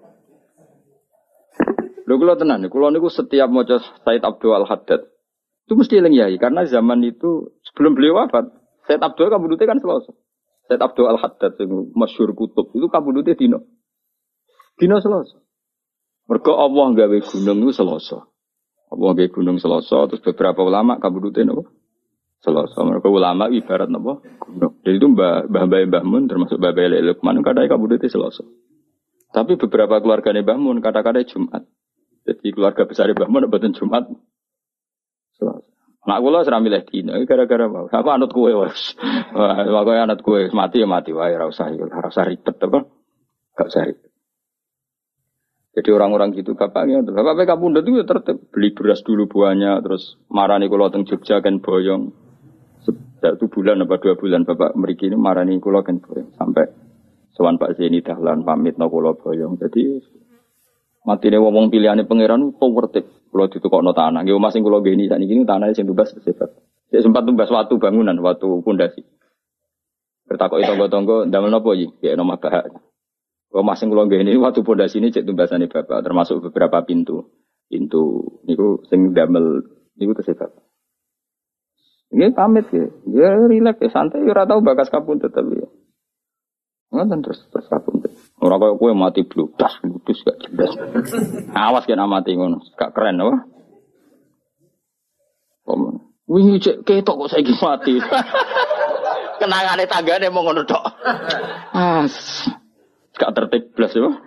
Lho kula tenan, kula niku setiap maca Said Abdul Al-Haddad itu mesti eling yai karena zaman itu sebelum beliau wafat, Said Abdul kabudute kan Selasa. Said Abdul Al-Haddad sing masyhur kutub itu kabudute dino. Dino Selasa. Mergo Allah gawe gunung itu Selasa. Allah gawe gunung Selasa terus beberapa ulama kabudute napa? Selasa. Mergo ulama ibarat napa? Gunung. Jadi itu Mbah Mbah Mbah Mun termasuk Mbah Mbah Lukman kadang kabudute Selasa. Tapi beberapa keluargane Mbah Mun kadang-kadang Jumat. Jadi keluarga besar Mbah Mun mboten Jumat. Selasa. Nak kula ora milih dina gara-gara wae. Aku anut kowe wis. Wah, kowe anut kowe mati ya mati wae ora usah ora usah ribet apa. Gak usah ribet. Jadi orang-orang gitu bapaknya, bapak P K Pundut itu tertib beli beras dulu buahnya, terus marani kula teng Jogja kan boyong. Satu bulan apa dua bulan bapak mriki ini marani kula kan boyong sampai sowan Pak Zeni dahlan pamit no kula boyong. Jadi matine wong pilihane pangeran to tertib. Kula ditukokno tanah. Nggih omah sing kula ngeni sakniki tanah sing tumbas sebab. Sik sempat tumbas watu bangunan, watu pondasi. Bertakoki tangga-tangga ndamel napa iki? Kayak nomah bahak. Omah sing kula ngene watu pondasi ini cek tumbasane bapak termasuk beberapa pintu. Pintu niku sing damel niku tesih bapak. Nggih pamit ya. Ya rileks ya santai ora tau bakas kapundhut tapi. Ngoten terus terus kapundhut. Ora kaya kowe mati bludas bludas gak jelas. Awas kena mati ngono. Gak keren apa? Om. Wingi cek ketok kok saiki mati. Kenangane tanggane mau ngono tok. As. Gak tertib blas ya.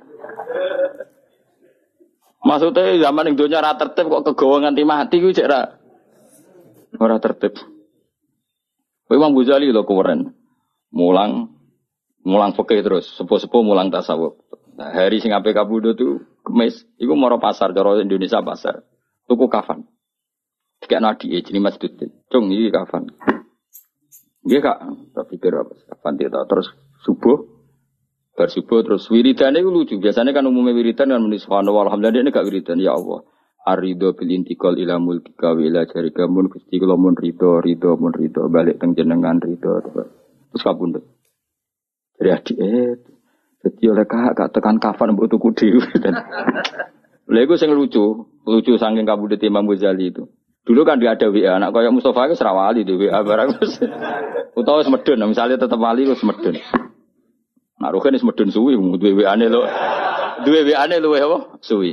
Maksudnya zaman yang dunia ora tertib kok kegawa nganti mati ku cek ra. Ora tertib. Imam Ghazali lho keren. Mulang mulang fikih terus, sepuh-sepuh mulang tasawuf. Nah, hari sing ape kabudut itu kemis, iku moro pasar cara Indonesia pasar. Tuku kafan. Dikek nadi jenenge Mas Dudin. Cung iki kafan. Nggih Kak, tak pikir apa kafan dia terus subuh. Bar subuh terus wiridane iku lucu. Biasanya kan umumnya wiridan kan muni subhanallah alhamdulillah ini gak wiridan ya Allah. Arido bil intikal ila mulkika wa ila jarika mun Gusti kula mun rido rido mun rido balik teng jenengan rido terus kabundut. Dari adik eh dadi oleh Kak gak tekan kafan mbok tuku dhewe. Lha iku sing lucu, lucu saking kabundut Imam Ghazali itu. Dulu kan dia ada W A, anak kayak Mustafa itu serawali di W A barang. Utawa semedun, misalnya tetap wali itu semedun. Nah, Ruhin is medun suwi, duwe W A-ne lho. Duwe W A-ne luwe apa? Suwi.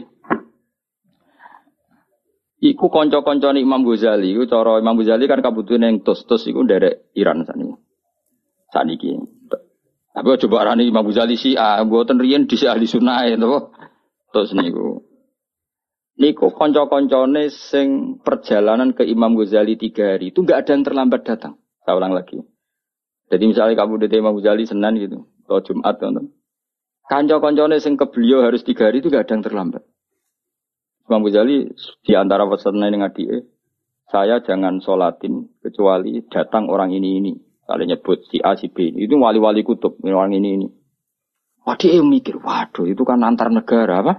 Iku kanca-kancane Imam Ghazali, iku cara Imam Ghazali kan kabutune ning tos-tos iku nderek Iran saniki. Saniki. Tapi coba arani Imam Ghazali si ah mboten riyen dhisik ahli sunah to. Tos niku. Niku kanca-kancane sing perjalanan ke Imam Ghazali tiga hari itu enggak ada yang terlambat datang. Saya ulang lagi. Jadi misalnya kamu di Imam Ghazali Senin gitu. Atau Jumat kan. Kanca-kancane sing ke beliau harus tiga hari itu gak ada yang terlambat. Imam Ghazali di antara pesannya dengan adike, saya jangan sholatin kecuali datang orang ini ini. Kalau nyebut si A si B, itu wali-wali kutub orang ini ini. Waduh mikir, waduh itu kan antar negara apa?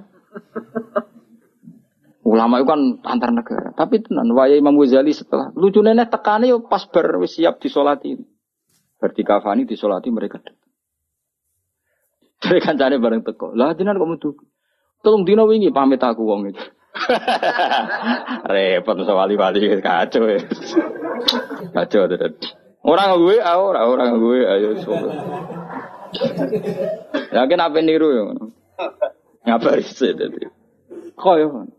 Ulama itu kan antar negara. Tapi tenan waya Imam Ghazali setelah lucu nenek tekane yo pas ber siap disolatin. Berarti kafani disolati mereka datang. Jadi kancane bareng teko. Lah jenengan kok metu. Tolong dina wingi pamit aku wong iki. Repot masa wali-wali kacau ya. Kacau tenan. Orang gue, ora orang gue ayo sopo. Yakin apa niru yo. Ngabari sih dadi. Koyo.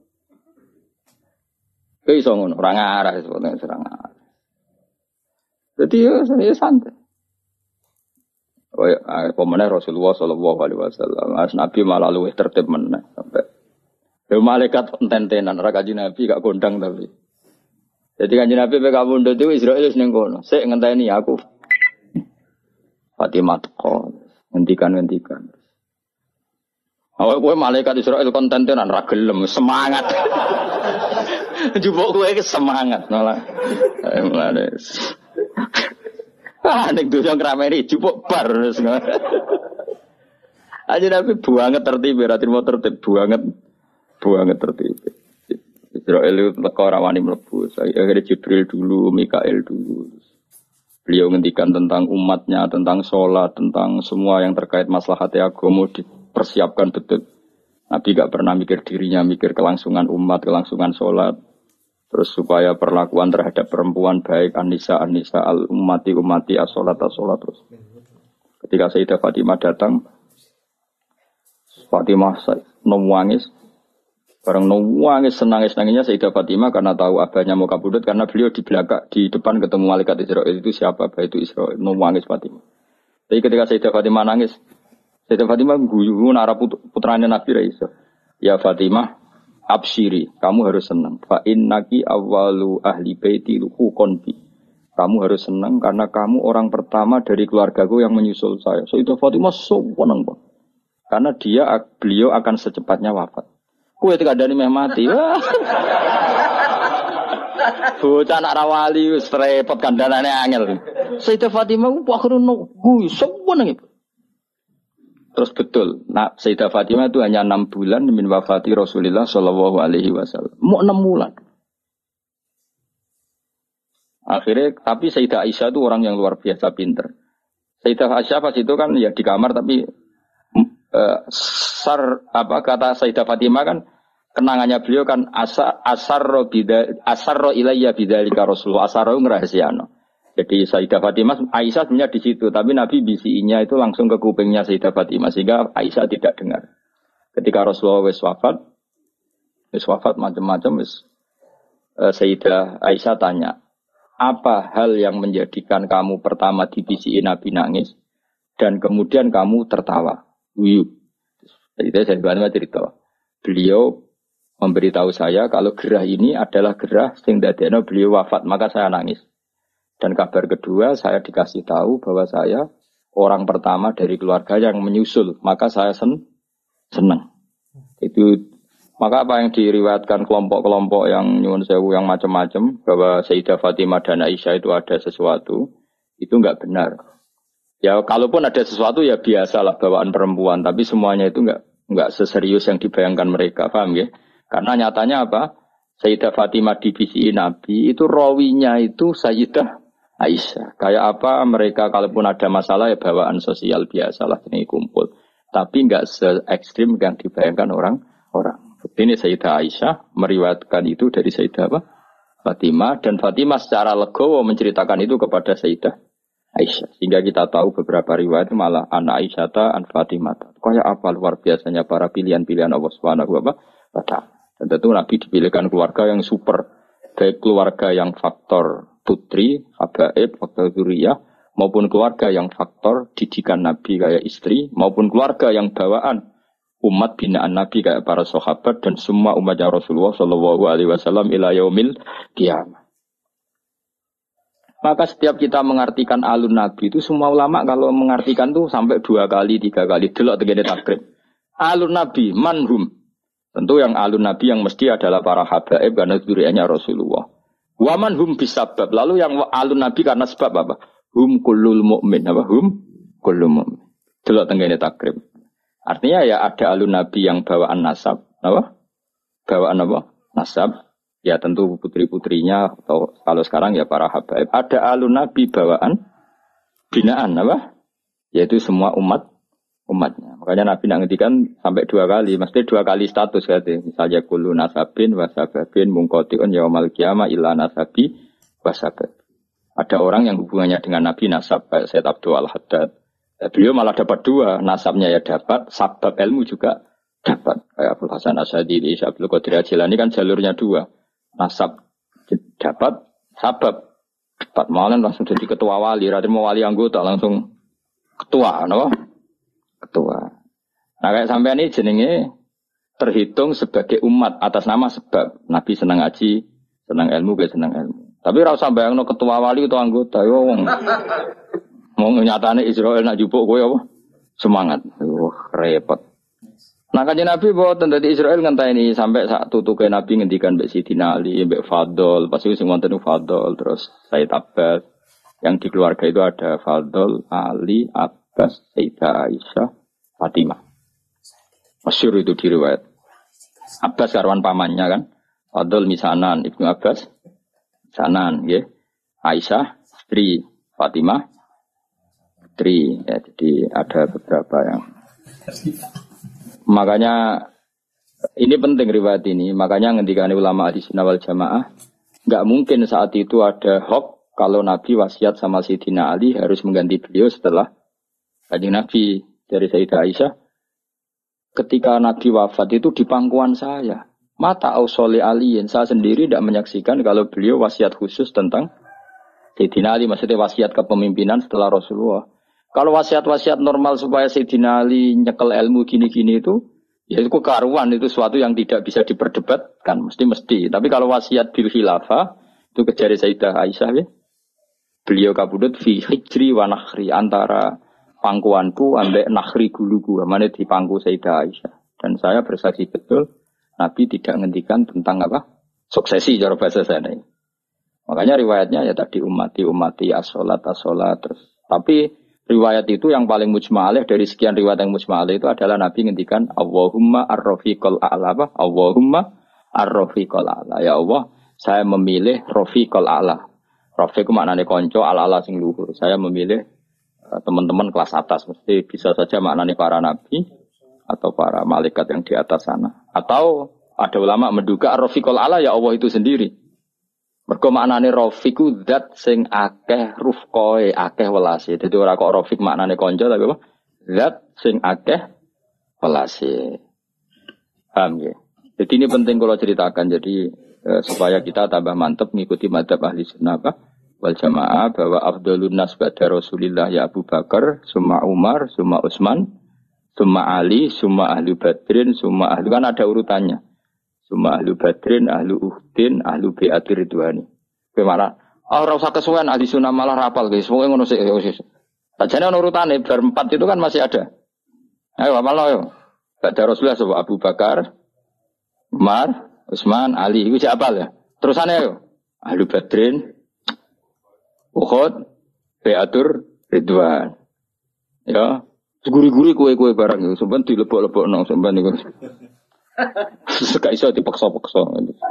Kayak iso ngono, ora ngarah sebetulnya serang arah. Jadi yo saya santai. Oh ya, pemenang Rasulullah Shallallahu Alaihi Wasallam, as Nabi malah luwih tertib meneh sampai. Yo malaikat enten-tenan, ora kanjeng Nabi gak kondang tapi. Jadi kanjeng Nabi pe kabundut itu Israil wis ning kono. Sik ngenteni aku. Fatimah teko, ngendikan-ngendikan. Awak kowe malaikat Israil konten-tenan ra gelem, semangat. Jupuk kowe iki semangat malah. Eh mulane. Ah, nek dosa ngrameni jupuk bar wis. Aja tapi banget tertib, berarti mau tertib banget. Banget tertib. Israel itu teko ora wani mlebu. Saya akhirnya Jibril dulu, Mikail dulu. Beliau ngendikan tentang umatnya, tentang sholat, tentang semua yang terkait maslahat agama dipersiapkan betul. Nabi gak pernah mikir dirinya, mikir kelangsungan umat, kelangsungan sholat. Terus supaya perlakuan terhadap perempuan baik Anisa Anisa al umati umati as-sholat as-sholat terus. Ketika Sayyidah Fatimah datang, Fatimah nangis, bareng nangis senangis nangisnya Sayyidah Fatimah karena tahu abahnya mau kabudut karena beliau di belakang di depan ketemu malaikat Israel itu siapa abah itu Israel nangis Fatimah. Tapi ketika Sayyidah Fatimah nangis, Sayyidah Fatimah guyu nara putranya Nabi Raisa, ya Fatimah. Absyiri, kamu harus senang. Fa innaki awwalu ahli baiti luhu konbi. Kamu harus senang karena kamu orang pertama dari keluargaku yang menyusul saya. So itu Fatimah seneng Pak. Karena dia beliau akan secepatnya wafat. Kowe tidak ada meh mati. Bocah anak rawali wis repot kandhanane angel. Sayyidah Fatimah ku akhire nunggu seneng. Terus betul, nah Sayyidah Fatimah itu hanya enam bulan min wafati Rasulullah Shallallahu Alaihi Wasallam. Mau enam bulan. Akhirnya, tapi Sayyidah Aisyah itu orang yang luar biasa pinter. Sayyidah Aisyah pas itu kan ya di kamar tapi uh, sar apa kata Sayyidah Fatimah kan kenangannya beliau kan asar asarro bida asarro ilayya bidzalika Rasulullah asarro ngrahasiano. Jadi Sayyidah Fatimah, Aisyah sebenarnya di situ, tapi Nabi bisinya itu langsung ke kupingnya Sayyidah Fatimah sehingga Aisyah tidak dengar. Ketika Rasulullah wis wafat, wis wafat macam-macam wis uh, Sayyidah Aisyah tanya, apa hal yang menjadikan kamu pertama dibisiin Nabi nangis dan kemudian kamu tertawa? Wiyu. Jadi Sayyidah Fatimah cerita, beliau memberitahu saya kalau gerah ini adalah gerah sing dadekno beliau wafat, maka saya nangis. Dan kabar kedua, saya dikasih tahu bahwa saya orang pertama dari keluarga yang menyusul. Maka saya sen senang. Itu Maka apa yang diriwayatkan kelompok-kelompok yang nyuwun sewu yang macam-macam bahwa Sayyidah Fatimah dan Aisyah itu ada sesuatu, itu enggak benar. Ya kalaupun ada sesuatu ya biasalah bawaan perempuan, tapi semuanya itu enggak enggak seserius yang dibayangkan mereka, paham ya? Karena nyatanya apa? Sayyidah Fatimah divisi Nabi itu rawinya itu Sayyidah Aisyah. Kayak apa mereka kalaupun ada masalah ya bawaan sosial biasalah ini kumpul. Tapi enggak se ekstrim yang dibayangkan orang-orang. Ini Sayyidah Aisyah meriwayatkan itu dari Sayyidah apa? Fatimah, dan Fatimah secara legowo menceritakan itu kepada Sayyidah Aisyah. Sehingga kita tahu beberapa riwayat malah anak Aisyah an Fatimah. Kayak apa luar biasanya para pilihan-pilihan Allah Subhanahu wa taala. Dan tentu Nabi dipilihkan keluarga yang super, baik keluarga yang faktor putri, habaib, faktor zuriyah, maupun keluarga yang faktor didikan Nabi kayak istri, maupun keluarga yang bawaan umat binaan Nabi kayak para sahabat dan semua umatnya Rasulullah Shallallahu Alaihi Wasallam ila yaumil qiyamah. Maka setiap kita mengartikan alun Nabi itu semua ulama kalau mengartikan tuh sampai dua kali, tiga kali delok tegene takrib. Alun Nabi manhum. Tentu yang alun Nabi yang mesti adalah para habaib karena zuriyahnya Rasulullah. Wa manhum bisabab. Lalu yang alun Nabi karena sebab apa? Hum kullul mu'min. Apa? Hum kullul mu'min. Delok tegene takrib. Artinya ya ada alun Nabi yang bawaan nasab, apa? Bawaan apa? Nasab. Ya tentu putri-putrinya atau kalau sekarang ya para habaib. Ada alun Nabi bawaan binaan, apa? Yaitu semua umat umatnya. Makanya Nabi nak ngendikan sampai dua kali, mesti dua kali status katanya. Misalnya kullu nasabin wasababin mungkotiun yaumal qiyamah illa nasabi wasabab. Ada orang yang hubungannya dengan Nabi nasab kayak Sayyid Abdul Al-Haddad. Beliau malah dapat dua, nasabnya ya dapat, sabab ilmu juga dapat. Kayak Abdul Hasan Asyadili, Abdul Qadir Jilani kan jalurnya dua. Nasab dapat, sabab dapat. Malah langsung jadi ketua wali, radhi mau wali anggota langsung ketua, no? Ketua. Nah kayak sampai ini jenenge terhitung sebagai umat atas nama sebab. Nabi senang ngaji, senang ilmu, gak senang ilmu. Tapi rasa bayangno ketua wali itu anggota, yo wong. Mau nyatane Israel nak jupuk kowe apa? Semangat. Wah, repot. Nah kanjeng Nabi boten dadi Israel ngenteni sampai sak tutuke Nabi ngendikan mbek Sidina Ali, mbek Fadl, pasti sing wonten Fadl, terus Said Abbas. Yang di keluarga itu ada Fadl, Ali, Abbas, Sayyidah Aisyah, Fatimah. Masyhur itu diriwayat. Abbas karwan pamannya kan. Fadl misanan, Ibnu Abbas misanan, nggih. Aisyah istri Fatimah. Tri, ya, jadi ada beberapa yang makanya ini penting riwayat ini, makanya ngendikane ulama ahli sunnah wal jamaah nggak mungkin saat itu ada hoax kalau Nabi wasiat sama Sayyidina Ali harus mengganti beliau setelah kanjeng Nabi. Dari Sayyidah Aisyah ketika Nabi wafat itu di pangkuan saya mata ausoli aliin, saya sendiri tidak menyaksikan kalau beliau wasiat khusus tentang Sayyidina Ali, maksudnya wasiat kepemimpinan setelah Rasulullah. Kalau wasiat-wasiat normal supaya Sayyidina Ali nyekel ilmu gini-gini itu, ya itu kekaruan, itu sesuatu yang tidak bisa diperdebatkan, mesti-mesti. Tapi kalau wasiat bil khilafah, itu kejari Sayyidah Aisyah, ya. Beliau kabudut fi hijri wa nakhri, antara pangkuanku ambek nakhri guluku, mana di pangku Sayyidah Aisyah. Dan saya bersaksi betul, Nabi tidak ngendikan tentang apa? Suksesi cara bahasa sana. Makanya riwayatnya ya tadi umati umati as-sholat as-sholat terus. Tapi riwayat itu yang paling mujma'alih dari sekian riwayat yang mujma'alih itu adalah Nabi ngendikan Allahumma ar-rafiqal a'la apa? Allahumma ar-rafiqal a'la. Ya Allah, saya memilih rafiqal a'la. Rafiq maknanya konco, al-a'la sing luhur. Saya memilih uh, teman-teman kelas atas. Mesti bisa saja maknanya para nabi atau para malaikat yang di atas sana. Atau ada ulama menduga ar-rafiqal a'la ya Allah itu sendiri. Mergo maknane rafiqu zat sing akeh rufqoe, akeh welase. Dadi ora kok rafiq maknane kanca tapi apa? Zat sing akeh welase. Paham ya? Jadi ini penting kalau ceritakan jadi eh, supaya kita tambah mantap mengikuti madzhab ahli sunnah apa? Wal jamaah bahwa afdhalun nas ba'da Rasulillah ya Abu Bakar, summa Umar, summa Utsman, summa Ali, summa ahli Badrin, summa ahli kan ada urutannya. Suma ahlu badrin, ahlu uhdin, ahlu bi'ati ridwani. Bagaimana? Oh, rasa kesuwen ahli sunnah malah rapal guys. Semoga ngono sih. Sajane ono urutane bar empat itu kan masih ada. Ayo apal yo. Ba'da Rasulullah Abu Bakar, Umar, Utsman, Ali. Iku siapa ya? Terusane yo. Ahlu Badrin, Uhud, Beatur, Ridwan. Ya, guri-guri kue-kue barang itu. Sampai dilebok-lebokno sampai niku. Sekak iso dipaksa-paksa.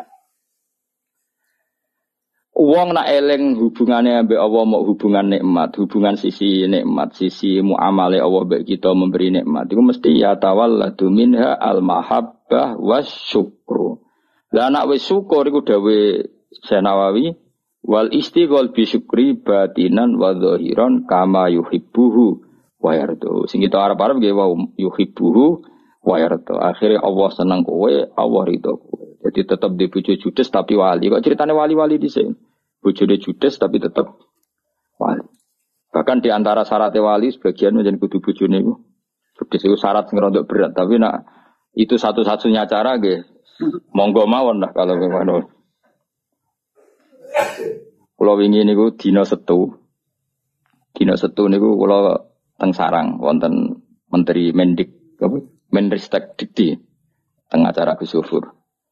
Wong nak eling hubungannya ambek Allah mau hubungan nikmat, hubungan sisi nikmat, sisi muamale Allah mbek kita memberi nikmat. Iku mesti ya tawalladu minha al-mahabbah wasyukru. Lah nak wis syukur iku dawe Senawawi wal istighol bi syukri batinan wa zahiran kama yuhibbuhu wa yardu. Sing kita arep-arep nggih wa yuhibbuhu wa yardu. Akhire Allah seneng kowe, Allah ridho kowe. Jadi tetap di bojo judes tapi wali. Kok ceritane wali-wali dhisik. Bojone judes tapi tetap wali. Bahkan di antara syarat wali sebagian menjadi kudu bojone iku. Judes itu syarat sing rada berat, tapi nak itu satu-satunya cara nggih. Monggo mawon lah kalau ngono. Kula wingi niku dina Setu. Dina Setu niku kula teng sarang wonten Menteri Mendik apa? Menristek Dikti teng acara Gus Yufur.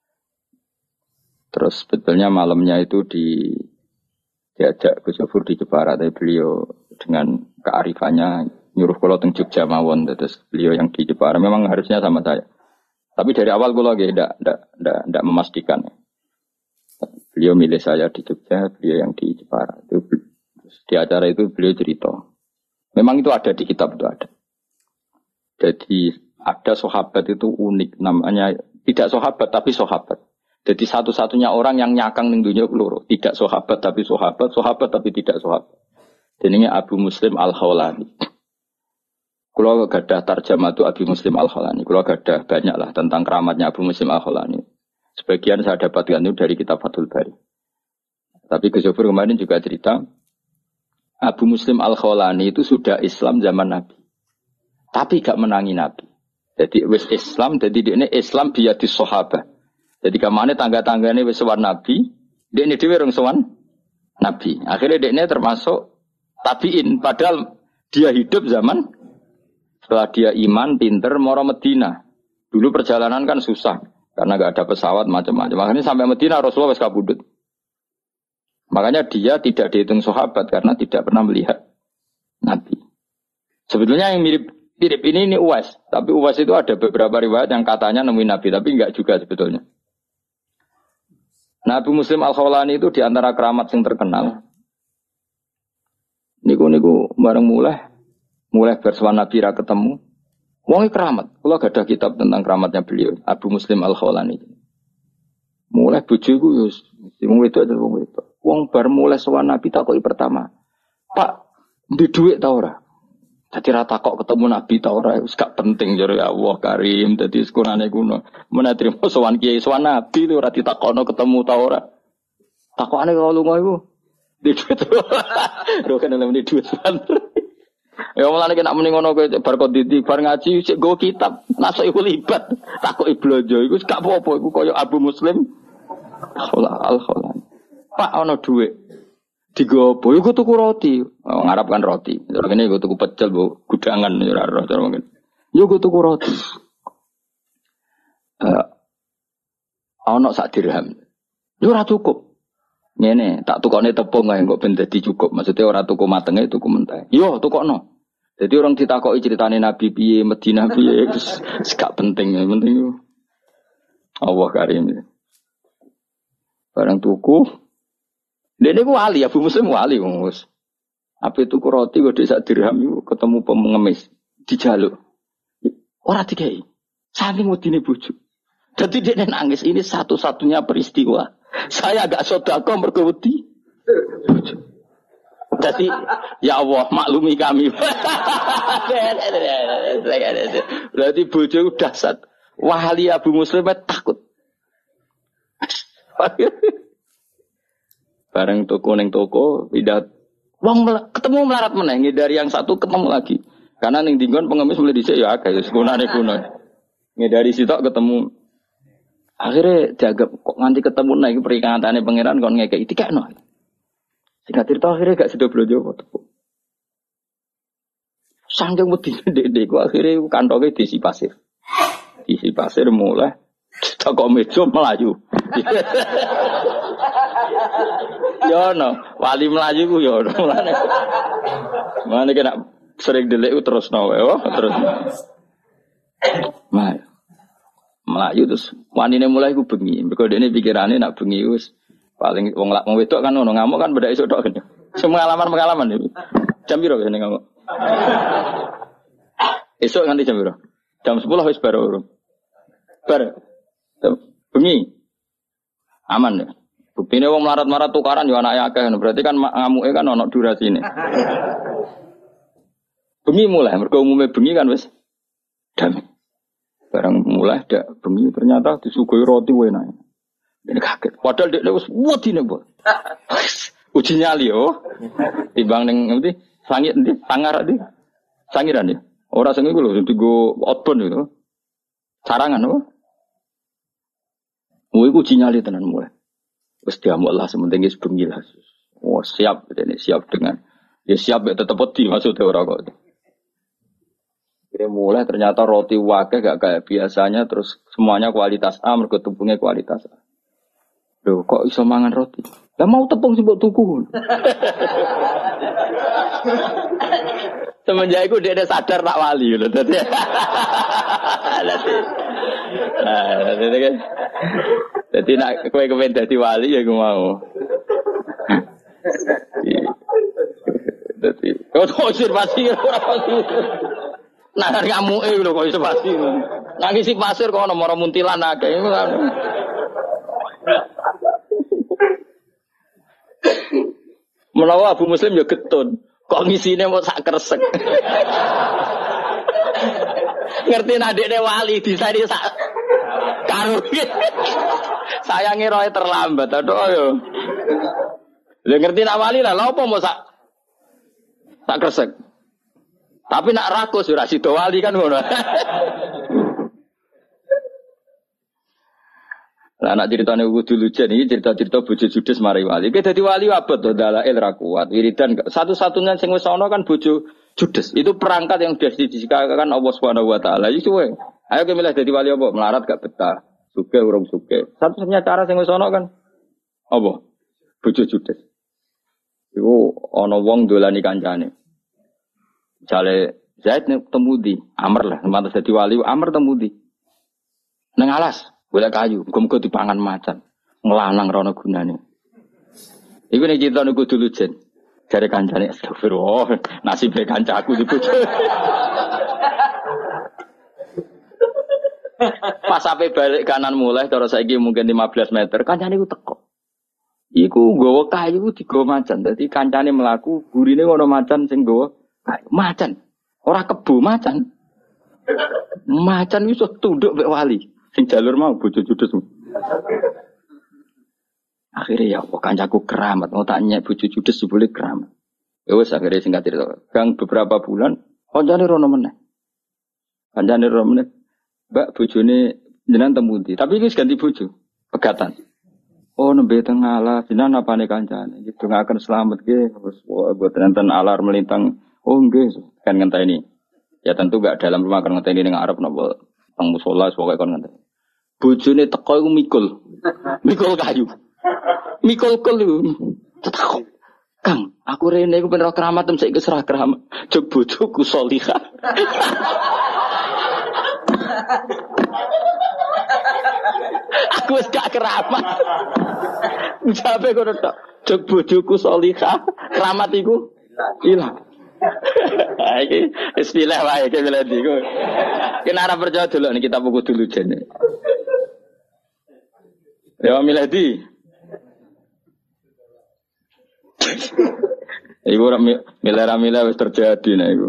Terus sebetulnya malamnya itu di diajak Gus Yufur di Jepara, tapi beliau dengan kearifannya nyuruh kula teng Jogja mawon, terus beliau yang di Jepara memang harusnya sama saya. Tapi dari awal kula nggih ndak ndak ndak ndak memastikan. Beliau milih saya di Jogja, beliau yang di Jepara. Itu terus di acara itu beliau cerita. Memang itu ada di kitab itu ada. Jadi ada sahabat itu unik namanya, tidak sahabat tapi sahabat. Jadi satu-satunya orang yang nyakang ning dunia keloro, tidak sahabat tapi sahabat, sahabat tapi tidak sahabat. Jenenge Abu Muslim Al-Khawlani. Kula gadah tarjamah tu Abu Muslim Al-Khawlani. Kula gadah banyak lah tentang keramatnya Abu Muslim Al-Khawlani. Sebagian saya dapatkan itu dari kitab Fathul Bari. Tapi Gus Yufur kemarin juga cerita Abu Muslim Al-Khawlani itu sudah Islam zaman Nabi. Tapi gak menangi Nabi. Jadi wis Islam, jadi ini Islam biadis sahabat. Jadi kamane tangga-tanggane wis sowan Nabi, dekne dhewe rong sowan Nabi. Akhirnya dekne termasuk tabiin, padahal dia hidup zaman setelah dia iman, pinter, moro Medina. Dulu perjalanan kan susah karena enggak ada pesawat macam-macam. Makanya sampai Medina Rasulullah wis kabudut. Makanya dia tidak dihitung sahabat karena tidak pernah melihat Nabi. Sebetulnya yang mirip mirip ini ini Uwais, tapi Uwais itu ada beberapa riwayat yang katanya nemuin Nabi, tapi enggak juga sebetulnya. Nabi Muslim Al-Khawlani itu diantara keramat yang terkenal. Niku-niku bareng mulai, mulai bersuara Nabi ra ketemu. Wongi keramat. Kalau gak ada kitab tentang keramatnya beliau, Abu Muslim Al-Khawlani. Mulai bojoku yus, wong itu aja wong itu. Wong bar mulai suara Nabi takoki pertama. Pak, di duit ta ora? Dadi ra takok ketemu Nabi ta ora, wis gak penting jare Allah Karim, dadi sekurane kuno. Menawa trimo sowan kiai sowan Nabi ora ditakokno ketemu ta ora. Takokane kok lunga iku. Di duit. Lho kan lha duit. Ya mulane nek muni ngono kowe bar konditi bar ngaji sik nggo kitab, nasuk iku libat. Takoki blonjo iku gak apa-apa iku kaya Abu Muslim Al-Khawlani. Pak ana dhuwit. Digopo, iku tuku roti. Oh, ngarap kan roti. Terus ngene iku tuku pecel, Bu, gudangan ya ora ora mungkin. Yo iku tuku roti. Eh ana sak dirham. Yo ora cukup. Ngene, tak tukokne tepung ae kok ben dadi cukup. Maksudnya ora tuku matenge, tuku mentah. Yo tukokno. Jadi orang ditakoki ceritane Nabi piye, Madinah piye, wis gak penting, yang penting Allah Karim. Barang tuku Dene ku wali, Abu Muslim wali wis. Apa tuku roti kok sak dirham iku ketemu pengemis dijaluk. Ora dikai. Saking wedine bojo. Dadi dekne nangis, ini satu-satunya peristiwa. Saya agak sedekah mergo wedi. Dadi ya Allah maklumi kami. Berarti bojo udah dahsyat. Wali Abu Muslim takut. Bareng toko neng toko, tidak, wong ketemu melarat meneng dari yang satu ketemu lagi. Karena neng dinggon pengemis mulai dicek ya agak, sekunane kuno. Ngedari sitok ketemu. Akhirnya jaga kok nganti ketemu naik peringatannya pangeran kon ngekek itika no. Singkat cerita akhirnya gak sedo blojo toko. Sanjung wedi ndek-ndek ku akhirnya kantongnya diisi pasir. Diisi pasir mulai Saka meja melayu. Yo no, wali melayu ku yo no. Mane kena sering delik terus no oh terus. Mah. Melayu terus wanine mulai ku bengi. Mergo dene pikirane nak bengi wis paling wong lak wong wedok kan ono ngamuk kan beda iso tok kan. Semua pengalaman-pengalaman iki. Jam piro kene ngamuk? Esok nganti jam piro? Jam sepuluh wis baru. Bar. Bengi. Aman ya. Buktine wong melarat-marat tukaran yo anake akeh berarti kan ngamuke kan ono durasine. Bengi mulai mergo umume bengi kan wis damai. Barang mulai dak bengi ternyata disuguhi roti enak. Ini kaget. Padahal dia wis wedine, Bu. Uji nyali yo. Timbang ning ngerti sangit ndi? Sangar ndi? Sangiran ya. Ora sing iku lho digo outbound itu. Sarangan apa? Kuwi uji nyali tenan mulai. Wis diamuk lah sementing wis bengi lah. Oh, siap ini siap dengan ya siap ya tetep wedi maksudnya ora kok. Ini mulai ternyata roti wakeh gak kayak biasanya terus semuanya kualitas A mergo tepungnya kualitas A. Loh kok iso mangan roti? Lah mau tepung sih mbok tuku. Semenjak itu dia sadar tak wali lho dadi. Nah, dadi kan. Dadi nek kowe kepen dadi wali ya aku mau. Dadi kok observasi ora pasti. Nah, ngamuke lho kok iso pasti. Nangis si pasir kok ono mara muntilan akeh iku kan. Menawa Abu Muslim ya getun. Kok ngisine mau sak kresek. Ngerti nadekne wali disani sak karo. Sayange roe terlambat aduh yo. Lah ngerti nak wali lah lha opo mau sak sak kresek. Tapi nak rakus ora sida wali kan ngono. Lah anak ceritane kudu lujen iki cerita-cerita bojo judes mari wali. Ki dadi wali abot to dalail ra kuat. Wiridan satu-satunya sing wis ana kan bojo judes. Itu perangkat yang sudah didisikakan Allah Subhanahu wa taala. Iki suwe. Ayo ke milih dadi wali apa? Melarat gak betah. Sugih urung sugih. Satu-satunya cara sing wis ana kan apa? Bojo judes. Iku ana wong dolani kancane. Jale Zaid nek temu di Amr lah, mantu dadi wali Amr temu di. Nang alas golek kayu, muga-muga dipangan macan. Nglanang rono gunane. Iku nek cerita niku dulu jen. Jare kancane astagfirullah, nasibe kancaku dibojo. Pas sampai balik kanan mulai terus saiki mungkin lima belas meter, kancane iku teko. Iku nggawa kayu digawa macan. Dadi kancane mlaku, gurine ono macan sing nggawa kayu. Macan. Ora kebo macan. Macan iso tunduk mek wali. Sing jalur mau bojo judes. Akhirnya ya Allah kancaku keramat. Mau tak nyek bojo judes boleh keramat. Ya wis akhirnya singkat cerita. Gang beberapa bulan kancane rono meneh. Kancane rono meneh. Mbak bojone jenengan temu ndi? Tapi iki ganti bojo. Pegatan. Oh nembe teng alas, jenengan apane kancane? Gitu ngaken selamat nggih. Terus buat nenten alar melintang. Oh nggih, kan ngenteni. Ya tentu gak dalam rumah kan ngenteni ning arep napa teng musala pokoke kon ngenteni. Bojone teko iku mikul. Mikul kayu. Mikul kul iku. Tetakok. Kang, aku rene iku ben ora keramat tem saiki serah keramat. Jog bojoku salihah. Aku wis gak keramat. Ucape kono tok. Jog bojoku salihah, keramat iku ilang. Iki istilah wae iki miladi iku. Kena ora percaya delok nek kita buku dulu jene. Ya miladi. Iku ora milera milera wis terjadi nek iku.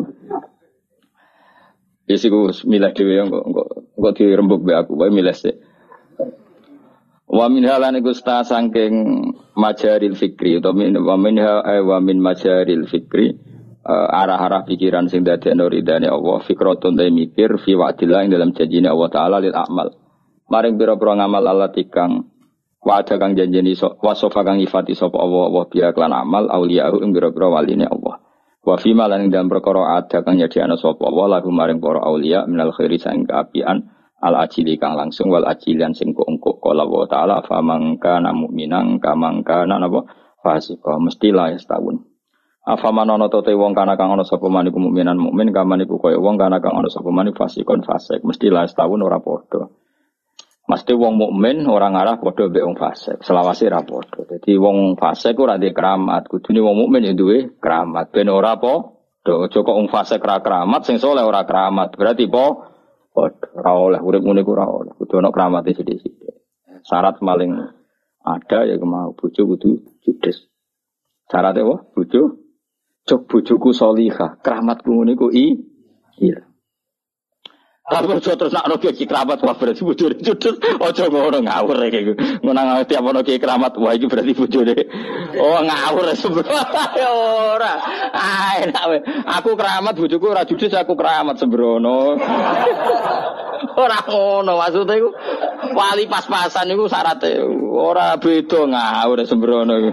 Wis iku milah dhewe kok kok kok dirembuk be aku wae milah sik. Wa min halane gusta saking majaril fikri utawa min wa min wa min majaril fikri uh, arah-arah pikiran sing dadekno ridane Allah fikratun ta mikir fi wa'dillah ing dalam janjine Allah taala lil amal maring pira-pira ngamal Allah tikang wa'ada kang janjeni so, wasofa kang ifati sapa Allah wa biya klan amal auliyahu ing pira-pira waline Allah wa fi malan ing dalam perkara ada kang nyediakno sapa Allah lagu maring para auliya minal khairi sang kaapian al ajili kang langsung wal ajilian sing engko kala wa taala fa mangka mu'minan kamangka napa fasika mesti la setahun afa manono te wong kana kang ana sapa man iku mukminan mukmin kaman iku kaya wong kana kang ana sapa man fasikon fasik mesti la setahun ora padha mesti wong mukmin ora ngarah padha mbek wong fasik selawase ra padha dadi wong fasik ora ndek keramat kudune wong mukmin ya duwe keramat ben ora apa do aja kok wong fasik ra keramat sing saleh ora keramat berarti po ora oleh urip ngene ku ora oleh kudu ana kramate sithik-sithik. Syarat paling ada ya mau bojo kudu judes. Syaratnya apa? Bojo cok bojoku salihah, kramatku ngene ku i iya. Tapi bojo terus nak ono ki kramat wah berarti bojone judes. Aja ngono ngawur iki. Ngono tiap ono ki kramat wah iki berarti bojone. Oh ngawur sebenarnya ora. Ah enak we. Aku keramat bojoku ora judes aku keramat sembrono. Ora ngono maksudnya iku wali pas-pasan iku syaratnya ora beda ngawur sembrono iku.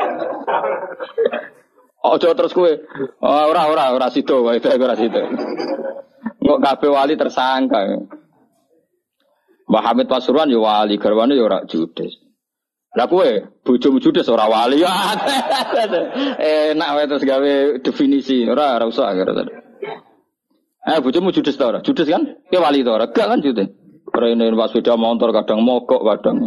Ojo terus kowe ora ora ora sida wae ora sida. Kok kabeh wali tersangka. Mbah Hamid Pasuruan ya wali, garwane ya ora judes. Lah kowe bojomu judes ora wali. Enak wae terus gawe definisi. Ora ora usah karo. Eh bojomu judes ta ora? Judes kan? Ki wali ta ora? Gak kan judes. Rene pas sepeda motor kadang mogok kadang.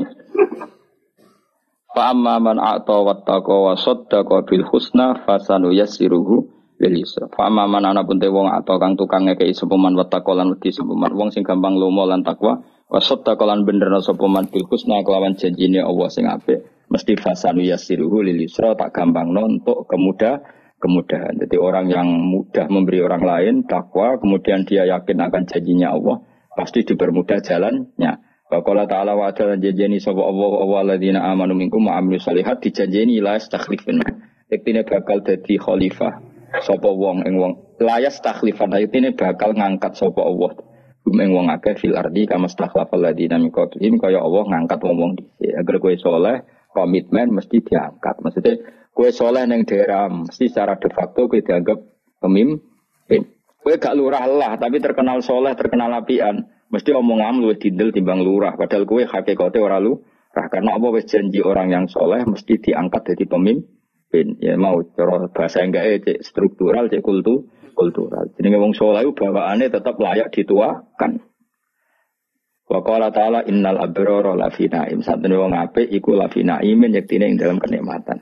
Fa amma man a'ta wattaqa wa saddaqa bil husna fasanu yassiruhu lil yusra. Fa amma man ana pun te wong atau kang tukang ngekeki sapa man wattaqa lan wedi sapa man wong sing gampang lomo lan takwa wa saddaqa lan benerna sapa man bil husna kelawan janjine Allah sing apik mesti fasanu yassiruhu lil yusra tak gampangno untuk kemudah kemudahan. Jadi orang yang mudah memberi orang lain takwa kemudian dia yakin akan janjinya Allah pasti dipermudah jalannya. Qala ta'ala wa ta'ala janjeni sapa Allah wa alladzina amanu minkum wa amilus shalihat dijanjeni la yastakhlifun. Yektine bakal dadi khalifah sapa wong ing wong la yastakhlifun yektine bakal ngangkat sapa Allah gum ing wong akeh fil ardi kama stakhlafal ladzina min qablihim kaya Allah ngangkat wong-wong dhisik. Agar kowe saleh komitmen mesti diangkat. Maksudnya kowe saleh ning daerah mesti secara de facto kowe dianggap pemimpin. Kowe gak lurah lah tapi terkenal saleh, terkenal apian. Mesti omongan luwih dindel timbang lurah. Padahal kowe hakikate ora lurah. Karena apa wis janji orang yang soleh mesti diangkat jadi pemimpin. Ya mau cara bahasa enggak cek struktural, cek kultu, kultural. Jenenge wong soleh bawaane tetap layak dituakan. Wa qala ta'ala innal abrara lafi na'im. Satene wong apik iku lafi na'imin yektine ing dalam kenikmatan.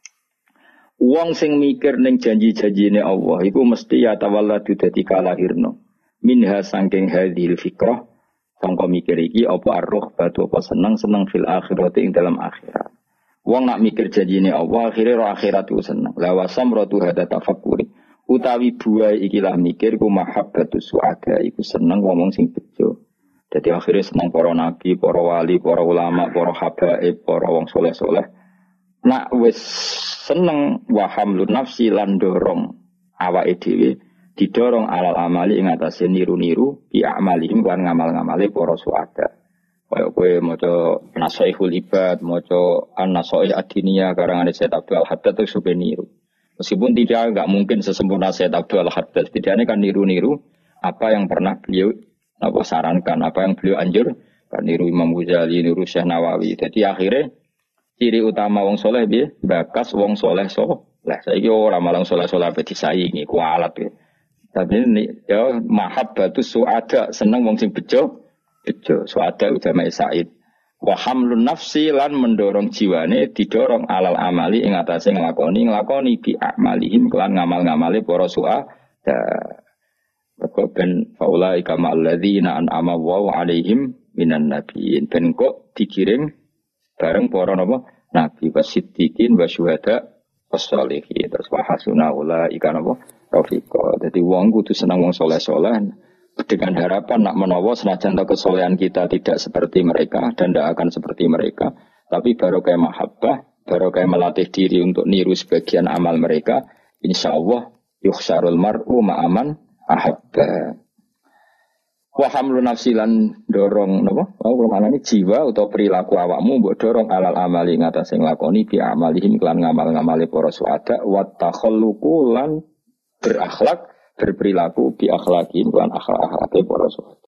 Wong sing mikir ning janji-janjine Allah iku mesti ya tawalladu dadi kalahirno. Minha sangking hadhil fikrah sangka mikir iki apa arruh batu apa seneng-seneng fil akhirat ing dalam akhirat. Wong nak mikir janjine Allah akhire ro akhirat ku seneng. La wasam ratu hada tafakkuri. Utawi buai iki lah mikir ku mahabbatu suada iku seneng ngomong sing bejo. Dadi akhire seneng para nabi, para wali, para ulama, para habaib, para wong soleh-soleh. Nak wis seneng wa hamlun nafsi lan dorong awake dhewe didorong alal amali ing atase niru-niru bi amalihim lan ngamal-ngamale para suada. Kaya kowe maca Nasaihul Ibad, maca An-Nasaih Ad-Diniyah karangan Sayyid Abdul Al-Haddad itu supaya niru. Meskipun tidak enggak mungkin sesempurna Sayyid Abdul Al-Haddad, setidaknya kan niru-niru apa yang pernah beliau apa sarankan, apa yang beliau anjur, kan niru Imam Ghazali, niru Syekh Nawawi. Jadi akhirnya ciri utama wong soleh piye? Bakas wong soleh soleh. Saiki ora malang soleh-soleh ape disaingi kualat ya. Tapi ini ya mahabbatu suada seneng wong sing bejo bejo suada ulama Said wa hamlun nafsi lan mendorong jiwane didorong alal amali ing atase nglakoni nglakoni bi amalihim kelan ngamal-ngamale para suada kok ben faulai kama alladzina an'ama wa alaihim minan nabiyyin ben kok dikirim bareng para napa nabi wasiddiqin wasyuhada wassalihin terus wa hasuna ulaika napa Rafiko. Jadi wong kudu senang wong soleh-soleh dengan harapan nak menawa senajan kesolehan kita tidak seperti mereka dan tidak akan seperti mereka, tapi baru kayak mahabbah, baru kayak melatih diri untuk niru sebagian amal mereka, insya Allah yukhsarul mar'u ma'aman ahabba. Wa hamlu nafsilan dorong napa? Oh, kemana ini jiwa atau perilaku awakmu mbok dorong alal amali ngatasé nglakoni bi amalihim kelan ngamal-ngamale para suada wa takhalluqu lan berakhlak, berperilaku bi akhlaki lan akhlak-akhlake para sahabat.